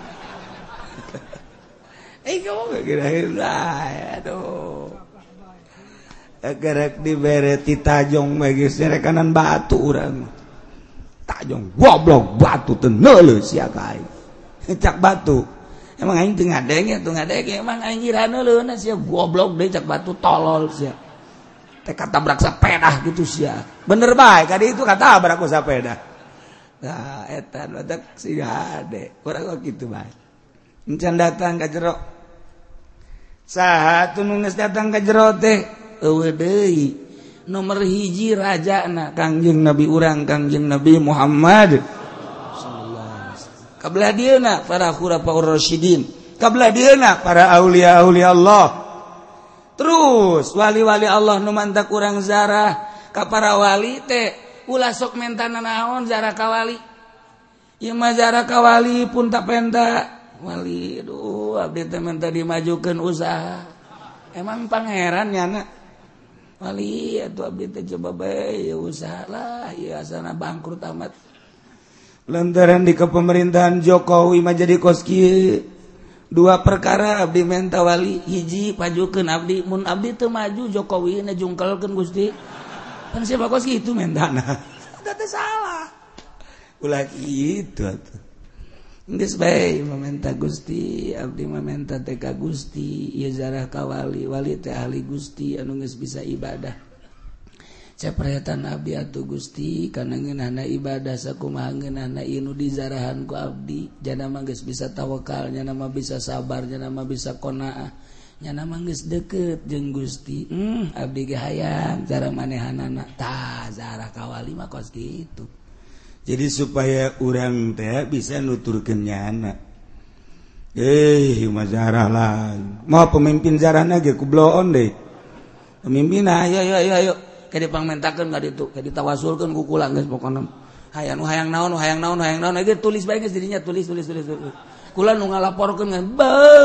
Ngomong ngeunaheun aduh. Gerak dibere ti tajong bagi serekanan batu urang. Tajong goblok batu teu neuleuh sia ka aing. Cak batu. Emang aing teu ngadenge emang aing ngira neuleuhna sia goblok deui cak batu tolol sia. Teh katabrak sapeda gitu sia. Bener bae ka ditu katabrak ku sapeda. Nah eta badak si hade. Urang kok kitu bae. Encan datang ka jero. Saha atuh nu geus datang ka jero teh? Eueuh deui nomor hiji rajana Kangjeng Nabi urang Kangjeng Nabi Muhammad sallallahu alaihi wasallam. Kabelah dieuna para khulafaur rasyidin, kabelah dieuna para aulia Allah. Terus wali-wali Allah nu mantak urang zarah ka para wali teh ulah sok mentana naon zarah ka wali. Ieu mah zarah ka wali pun tak penta wali. Aduh abdi teh minta dimajukeun usaha. Emang pangeran nyana wali atuh abdi teh coba bae usaha lah ieu asana bangkrut amat. Lantaran di kepemerintahan Jokowi mah jadi kos kieu. Dua perkara abdi menta wali hiji pajukeun abdi mun abdi teu maju Jokowi na jungkelkeun Gusti pan siapa kos kitu mentana eta teh salah ulah kitu atuh geus bae mamenta Gusti abdi mamenta teh ka Gusti ieu zarah ka wali wali teh ahli Gusti anu geus bisa ibadah capretan abdi atuh Gusti kana ngeunahna ibadah sakumaha ngeunahna ieu nu dizarahan ku abdi jana mah geus bisa tawakal nya mah bisa sabar nya mah bisa qanaah nya mah geus deukeut jeung Gusti abdi ge hayang cara manehanana tah zarah ka wali mah kos kitu jadi supaya urang teh bisa nuturkeun nyana mah zarah lah mau pemimpin zarahna ge kubloon deui pemimpin ayo kayak dipangmentakeun ka ditu kayak ditawasulkeun ku kula geus pokona hayang nu hayang naon ge tulis bae geus dirinya tulis kula nu ngalaporkeun ngan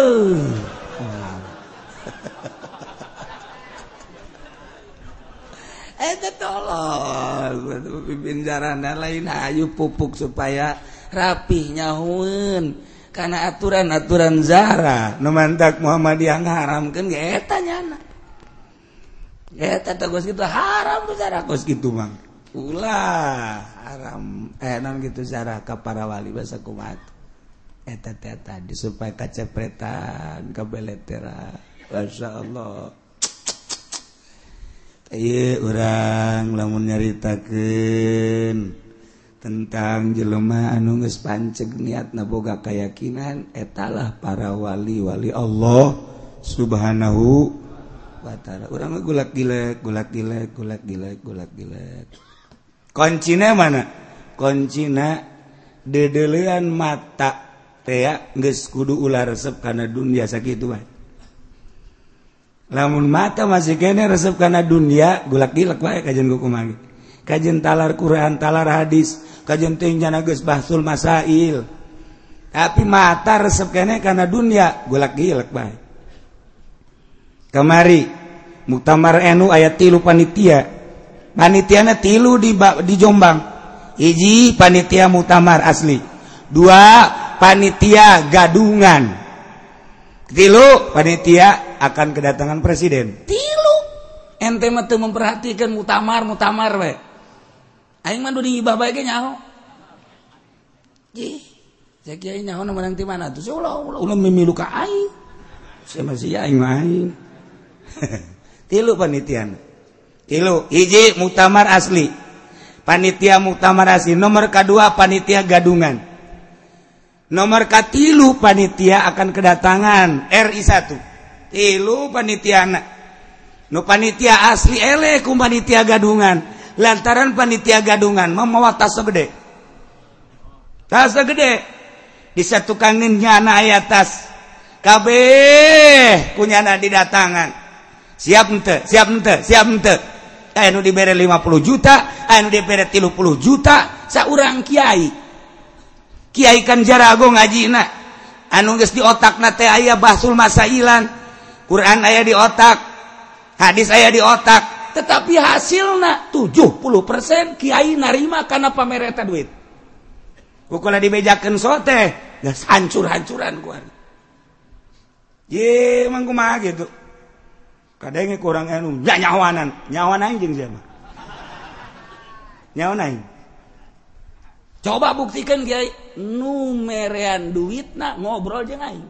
eta tolong pimpin jarana lain hayu pupuk supaya rapih nyahueun kana aturan-aturan zara nu mantak Muhammadiyah ngaharamkeun ge eta nyana eta kos kitu haram tuh zarah kos kitu mah ulah haram naon kitu zarah ka para wali basa kumaha eta teh tadi supaya kacepretan kabeleteran masyaallah ieu urang lamun nyaritakeun tentang jelema anu geus panceg niatna boga kayakinan etalah para wali-wali Allah subhanahu urang gulak gilek koncina mana koncina dedelean mata teh geus kudu ulah resep kana dunia sakitu wae lamun mata masih kene resep kana dunia gulak gilek wae kajen kumaha kajen talar Quran talar hadis kajen teh nyana geus bahsul masail tapi mata resep kene kana dunia gulak gilek wae kamari muktamar NU ayat 3 panitiana 3 di Jombang hiji panitia muktamar asli 2 panitia gadungan 3 panitia akan kedatangan presiden 3 ente mah teu memperhatikan muktamar we aing mah di ibah bae ge nyaho ih cek kiai nyaho menang ti mana tuh ulah mimilu ka aing sia masih aing mah aing 3 panitian 3 hiji muktamar asli panitia muktamar asli nomor kedua panitia gadungan nomor katilu panitia akan kedatangan RI 1 3 panitiana nu panitia asli eleh ku panitia gadungan lantaran panitia gadungan mah tas gede disatukankeun nyana aya tas kabeh kunyana didatangan siap ente aya nu dibere 50 juta aya nu dibere 30 juta saurang kiai kan jarago ngajina anu geus di otakna teh aya bahsul masailan Quran aya di otak hadis aya di otak tetapi hasilna 70% kiai narima kana pamer eta duit kukula dibejakeun soteh geus hancur-hancuran ku ye mangku mah gitu kadenge kurang anu nyawan aing jeung siapa nyawan aing coba buktikan kiai nu merean duitna ngobrol jeung aing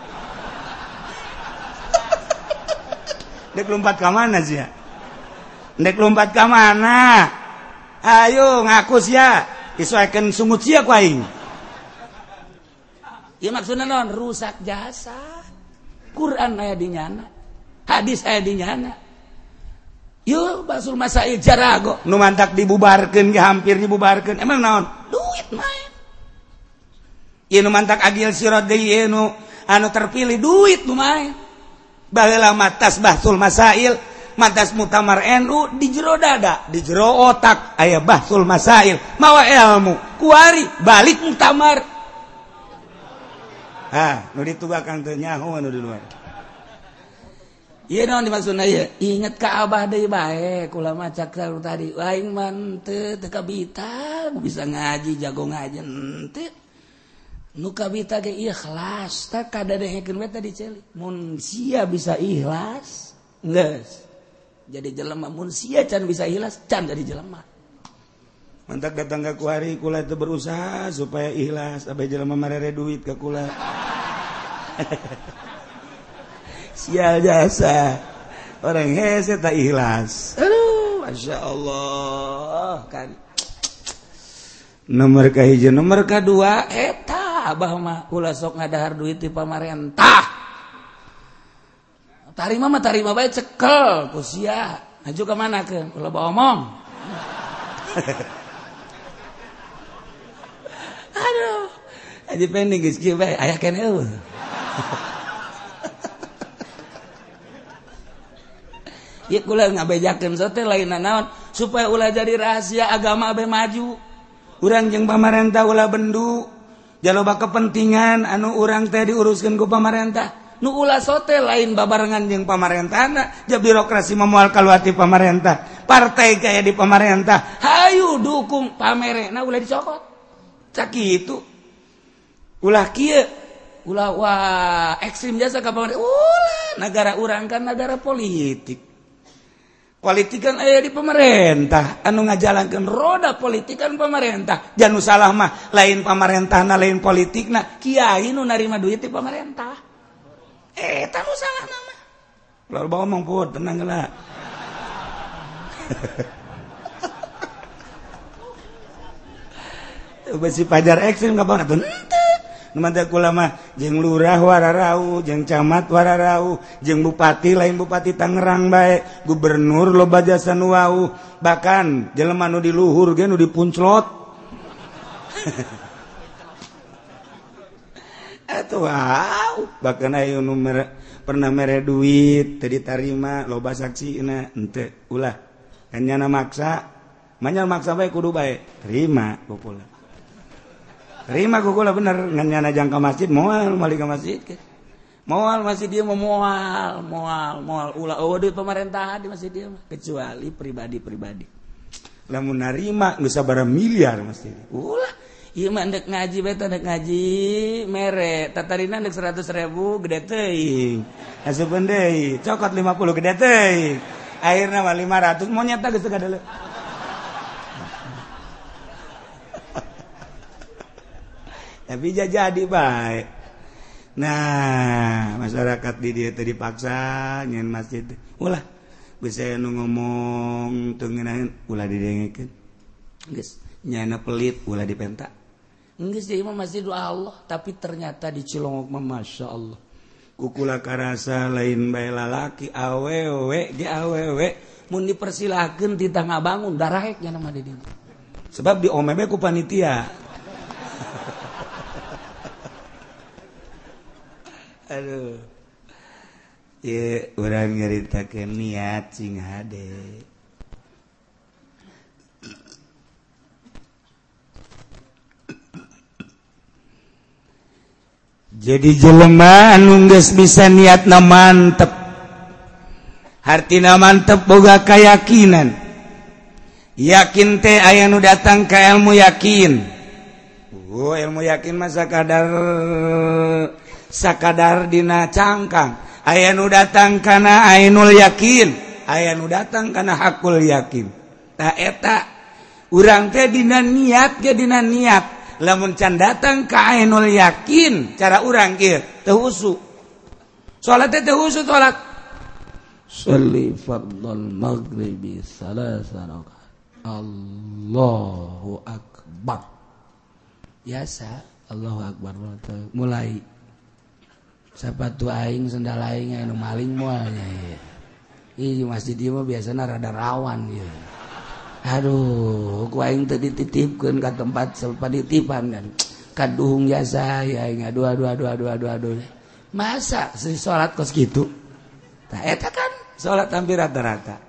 dek lompat ka mana sia dek lompat ka mana ayo ngaku sia disesuaikan sungut sia ku aing ieu maksudna naon rusak jasa Quran aya di nyana hadis aya di nyana yuk basul masail jarago nu mantak dibubarkeun ge hampir dibubarkeun emang naon duit main ieu nu mantak agil sirat deui ieu nu anu terpilih duit nu main baheula matas bahsul masail matas mutamar NU di jero dada di jero otak aya bahsul masail mawa ilmu kuari balik mutamar nu ditugakan teu nyaho anu di luar ieu naon dimaksudna ieu inget ka abah deui bae kula macak tadi aing mah teu kabita bisa ngaji jago ngaji teu nu kabita ge ikhlas tak kadadehekeun we tadi celi mun sia bisa ikhlas geus jadi jelema mun sia can bisa ikhlas can jadi jelema mantak datang ka kuari kula teu berusaha supaya ikhlas abah jelema marere duit ka kula sial jasa orang hese tak ikhlas aduh masya Allah kan nomor kahiji nomor kadua eta abah mah ulah sok ngadahar duit di pamarentah tarima mah tarima bae cekel ku sia aju ka manakeun ulah bawa omong aduh aji pending geus kieu bae aya keneh eueuh ieu kula ngabejakeun sote lain naon supaya ulah jadi rahasia agama abe maju urang jeung pamarentah ulah bendu jaloba kepentingan anu urang teh diuruskeun ku pamarentah nu ulah sote lain babarengan jeung pamarentahna ja birokrasi moal kaluati pamarentah partai kaya di pamarentah hayu dukung pamerena ulah dicokot cak kitu ulah kieu ulah wah ekstrim jasa ka pamarentah ulah negara urang kan negara politik kan aya di pemerintah anu ngajalankeun roda politik kan pemerintah jangan salah mah lain pamarentahna lain politikna kiai nu narima duit di pemerintah eta nu salah nama lalu bawa ngomong put tenang geula besi pajar ekstrim ka bawa teu Numantek ulama jeung lurah wararau, jeung camat wararau, jeung bupati lain bupati Tangerang bae, gubernur loba jasa nu wau, bahkan jelema nu di luhur ge nu dipunclot. Atuh wow, bahkan aya nu pernah mere duit teu ditarima loba saksina henteu ulah. Kan nyana maksa, manyal maksa bae kudu bae, terima pokokna. Terima kukula bener nganyana jangka masjid moal malik ke masjid ke moal masjid dia moal ulah duit pemerintahan di masjid dia kecuali pribadi lamun narima geus sabaraha miliar masjid ulah ieu mah endek ngaji beta endek ngaji mere tatarina endek 100.000 gede teuing asupeun deui cokot 50 gede teuing akhirna mah 500 mau nyata geus gadele. Tapi jadi baik. Nah, masyarakat di dia tadi dipaksa nyen masjid. Ulah, bisa nu ngomong teu ngeunaheun ulah didengekeun. Geus, nyana pelit ulah dipenta. Geus ieu mah masjid Allah, tapi ternyata di Cilongok mah masyaallah. Kukula karasa lain bae lalaki awewe ge awewe mun dipersilahkeun titah ngabangun daraek nya mah di dieu. Sebab di omebe ku panitia. Aduh, ya orang nyeritakan niat sing hade. Jadi jelema anu geus bisa niatna mantep, hartina mantep boga kayakinan. Yakin teh aya nu datang ka ilmu yakin. Ilmu yakin mah sakadar dina cangkang aya nu datang kana ainul yakin aya nu datang kana hakul yakin tah eta urang teh dina niat ge dina niat lamun can datang ka ainul yakin cara urang kieu teu husu salat teh teu husu salat sholli fardhal maghribi salasa rakaat Allahu akbar biasa Allahu akbar mulai sapatu aing sendal aing anu maling moal nya ieu masjid ieu mah biasana rada rawan ieu aduh ku aing teu dititipkeun ka tempat sapaditipan kan kaduhung jasa aing aduh masa si salat kos kitu tah eta kan salat hampir rata-rata.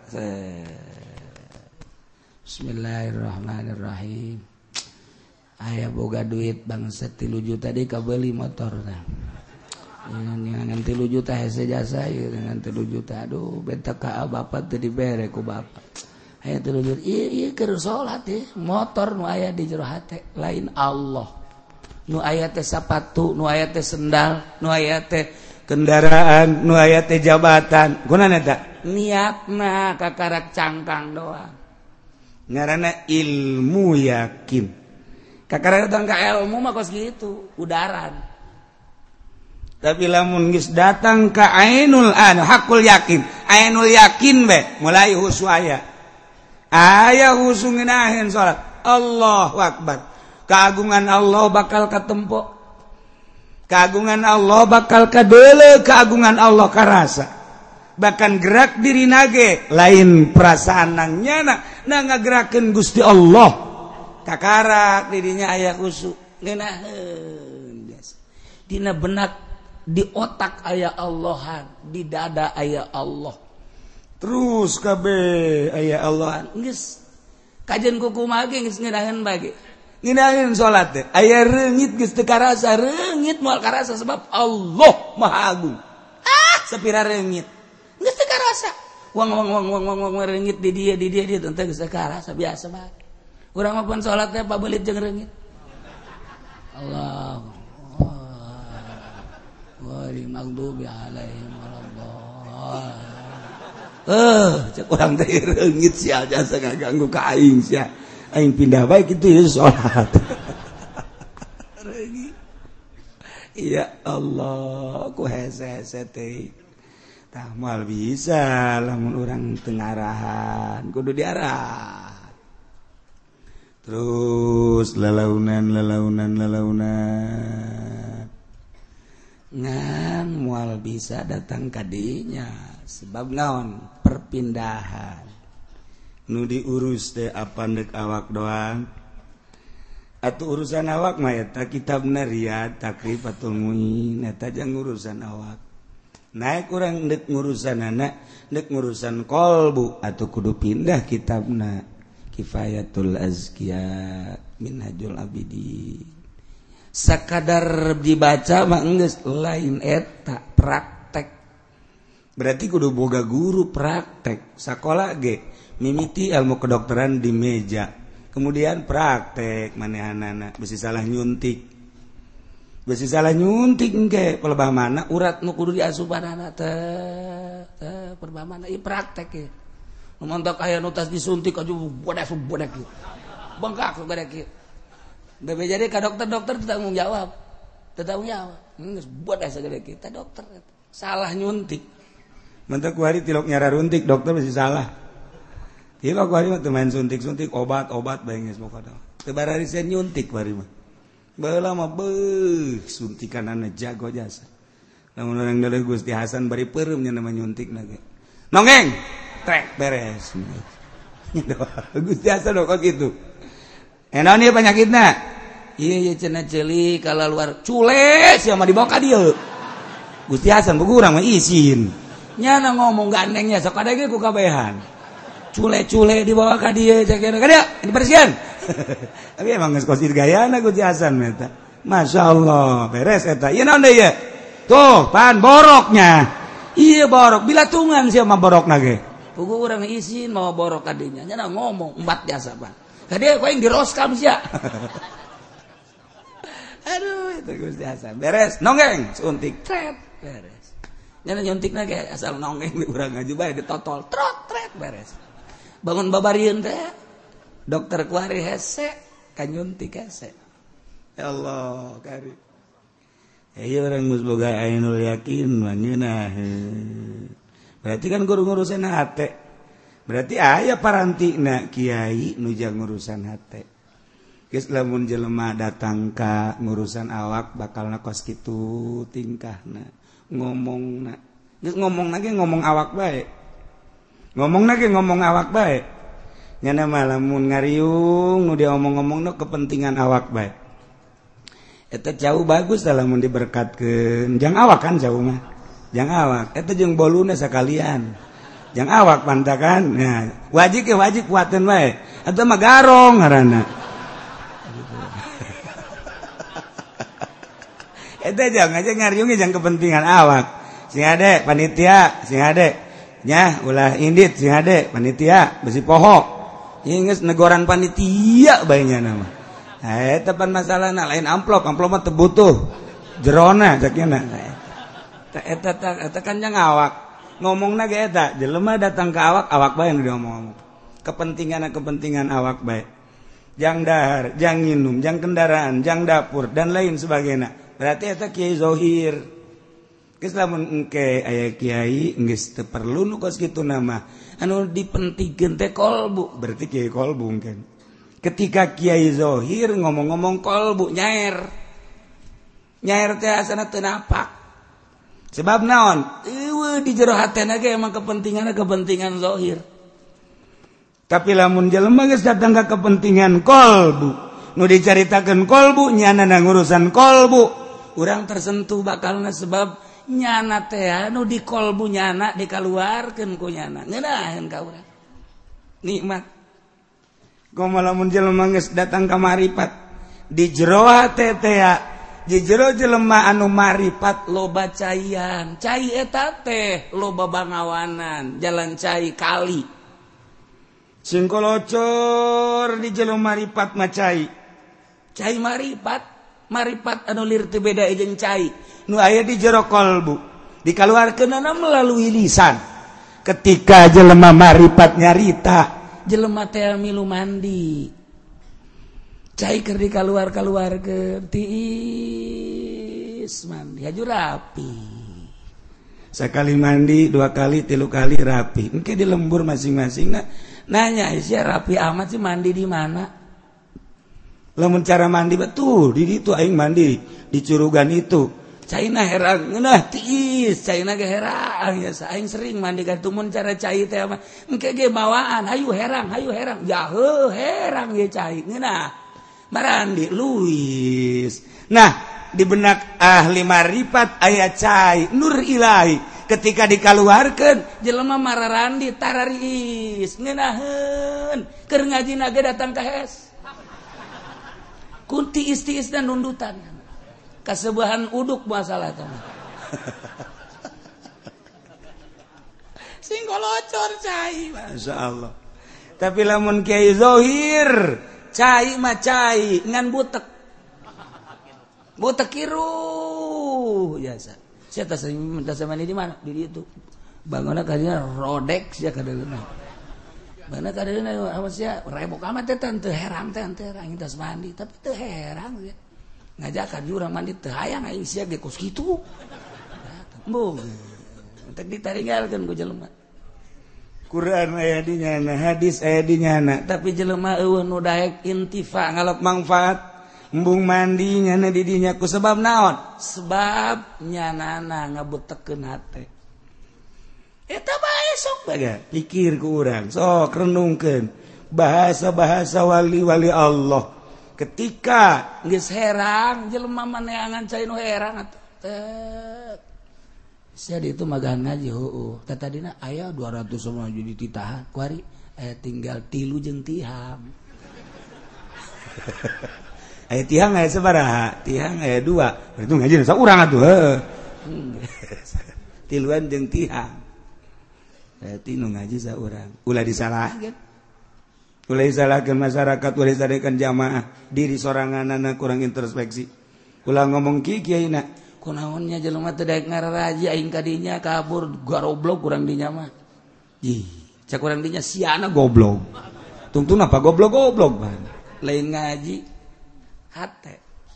Bismillahirrahmanirrahim. Aya boga duit bangsa 3 juta deui kabeli motor tah. Ngan 3 juta hese jasa ieu ngan 3 juta. Aduh benta ka bapak teu dibere ku bapak. Aya 3 juta. Ieu keur salat motor nu aya di jero hate lain Allah. Nu aya teh sapatu, nu aya teh sendal, nu aya teh kendaraan, nu aya teh jabatan. Gunana eta? Niatna kakarak cangkang doang. Ngaranna ilmu yakin. Kakarak datang ka ilmu mah kos gitu, udaran. Tapi lamun geus datang ka ainul hakul yakin. Ainul yakin be mulai husu aya. Aya husu ngeunaheun salat. Allahu akbar. Keagungan Allah bakal katempo. Keagungan Allah bakal kadeuleu, keagungan Allah karasa. Bahkan gerak diri nage lain perasaan nangnya na ngagerakeun Gusti Allah kakarak dirinya aya khusuk ngeunaheun biasa dina benak di otak aya Allahan di dada aya Allah terus kabeh aya Allahan geus kajen ku kumaha ge geus ngeunaheun bage ngeunaheun salat teh aya reungit geus teu karasa reungit moal karasa sebab Allah Maha Agung sapira reungit geus teu karasa wang reungit di dia teu geus teu karasa biasa bae urang mah pun salat teh pabelit jeung reungit Allah wal maghdubi alaihim waladdallin cek urang teh reungit sia jasa ngaganggu ka aing sia aing pindah bae kitu ya salat reungit ya Allah ku hese-hese teh tah moal bisa lamun urang teu ngarahan kudu diarah terus lelaunan ngan moal bisa datang ka dinya sebab naon perpindahan nu diurus teh apandek awak doang atuh urusan awak mah eta kitabna Riyad Takrifatul Muin eta jang urusan awak naik urang dek ngurusanana dek ngurusan kolbu atau kudu pindah kitabna Kifayatul Azkiya Minhajul Abidin sakadar dibaca mah geus lain eta praktek berarti kudu boga guru praktek sakola ge mimiti ilmu kedokteran di meja kemudian praktek manehanana bisi salah nyuntik engke pelebah mana urat nu kudu diasupanana teh pelebah mana ieu praktek ge nu montok aya nu tas disuntik aju bodak bengkak sabada kieu bebe jadi ka dokter tanggung jawab geus bodak sagede kieu teh dokter salah nyuntik mentek ku hari tilok nyara runtik dokter masih salah tilok ku hari mah teu main suntik obat bae geus pokona teu barari sen nyuntik bari mah baheula mah suntikanana jago jasa lamun urang daleuh Gusti Hasan bari peureum nya nama nyuntikna ge nongeng trek beres Gusti Hasan kok gitu enaon ieu penyakitna ieu cenah ceuli kala luar cule sia mah dibawa ka dieu Gusti Hasan buku urang mah izin nya ngomong gandengnya sok ada ge ku kabehan cule dibawa ka dieu cek ka dieu dibersihan tapi emang geus kosir gayana Gusti Hasan eta masyaallah beres eta ieu naon deui ieu tuh pan boroknya ieu borok bilatungan sia mah borokna ge puguh urang izin mau borok ka dinya nya ngomong embat biasa Pak ka dieu koeng diroskam sia aduh itu Gusti Hasan beres nonggeng suntik tret beres nya nyuntikna ge asal nonggeng di urang ngaju bae ditotol trot tret beres bangun babarieun teh dokter kuari hese kanyuntik hese ya Allah kari ieu urang geus boga ainul yakin mah berarti kan guru ngurusan hate berarti aya parantina kiai nu jang ngurusan hate geus lamun jelema datang ka ngurusan awak bakalna kos kitu tingkahna ngomongna geus ngomongna ge ngomong awak bae ngomong awak bae nyana mah lamun ngariung nu dia omong-omongna kepentingan awak bae eta jauh bagus da lamun diberkatkeun jang awak kan jauh mah jangan awak eta jeung boluna sakalian jangan awak pantakan nah wajib kuatin wae eta mah garong ngaranna eta jangan aja ngariungi jangan kepentingan awak sing ade panitia sing ade nya ulah indit sing ade panitia besi poho geus negoran panitia bae nya nama eta pan masalahna lain amplop mah teu butuh jerona sakina eta kan jang awak ngomongna ge eta jelema datang ka awak bae nu diomong kepentingan awak bae jang dahar jang nginum jang kendaraan jang dapur dan lain sebagainya berarti eta kiai zohir geus lamun engke aya kiai geus teu perlu nu kos kitu nama anu dipentingkeun teh kolbu berarti kiai kolbu kan ketika kiai zohir ngomong-ngomong kolbu nyaer teh asana teu napak sebab naon eueuh di jero hatena ge emang kepentingan zohir tapi lamun jelema geus datang ka kepentingan kolbu nu dicaritakeun kolbu nyana ngurusan kolbu urang tersentuh bakalna sebab nyana teh anu di kolbu nyana dikaluarkeun ku nyana ngeunaheun ka urang nikmat kumaha lamun jelema geus datang ka maripat di jero hate teh di jero jelema anu maripat loba caian cai eta teh loba bangawanan jalan cai kali sing kolocor di jero maripat mah cai maripat anu lir teu beda jeung cai nu aya di jero kolbu dikaluarkeunana melalui lisan ketika jelema maripat nyarita jelema teh milu mandi cai keur dikaluarkeun tiis mandi haju rapi sakali mandi 2 kali 3 kali rapi engke di lembur masing-masing nanya sia rapi amat sih mandi di mana lamun cara mandi betul di ditu aing mandi di curugan itu caina herang ngeunah tiis caina ge herang ya aing sering mandi ka tumun cara cai teh mah engke ge bawaan hayu herang ya herang ge cai ngeunah marandi luis nah di benak ahli marifat aya cai nur ilahi ketika dikaluarkeun jelema mararandi tarariis ngeunaheun keur ngajina ge datang ka hes kunti istiis dan nundutan kasebahan uduk masalah teh sing kolocor cai masyaallah tapi lamun kiai zohir cai mah cai ngan butek kiru biasa sia teh minta samani di mana di ditu bangunna kadinya rodek sia kadeuna mana kadeuna awas sia rebok amat teh teu herang teh herang tas mandi tapi teu herang sia ngajakan jurang mandi teu hayang aing sia ge kos kitu mbuh teh ditaringgalkeun ku jelema Quran aya di nyana hadis aya di nyana tapi jelema eueuh nu daek intifa ngalap manfaat embung mandi nyana di dinya ku sebab naon sebab nyanana ngabutekeun hate eta bae sok bae pikir ku urang sok renungkeun bahasa-bahasa wali-wali Allah ketika geus herang jelema maneangan cai nu herang atuh sia ditu magahan ngaji heueuh teh tadina aya 200 sama jadi titahan kuari aya tinggal 3 jeung tihang aya tihang aya sabaraha tihang aya 2 berarti ngaji saurang atuh heuh 3 jeung tihang berarti nu ngaji saurang ulah disalahkeun ulah disalahkeun masyarakat ulah disalahkeun jamaah diri soranganana kurang introspeksi ulah ngomong kieu-kieuina kunaonnya jelema teu daek ngararaji aing ka dinya kabur garoblok kurang dinya mah ih cak urang dinya siana goblok tungtun apa goblok ban lain ngaji hate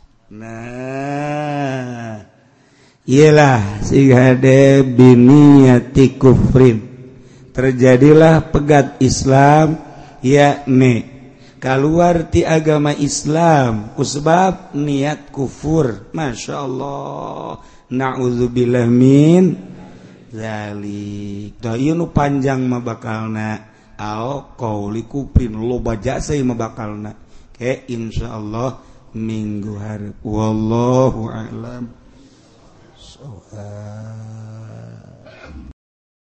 nah iyalah sigade biniyati kufrin terjadilah pegat Islam yakni keluar ti agama Islam kusebab niat kufur masyaallah naudzubillah min zalik da ieu nu panjang mah bakalna au qauli kufrin loba jasa mah bakalna ke insyaallah minggu hareup wallahu a'lam. oh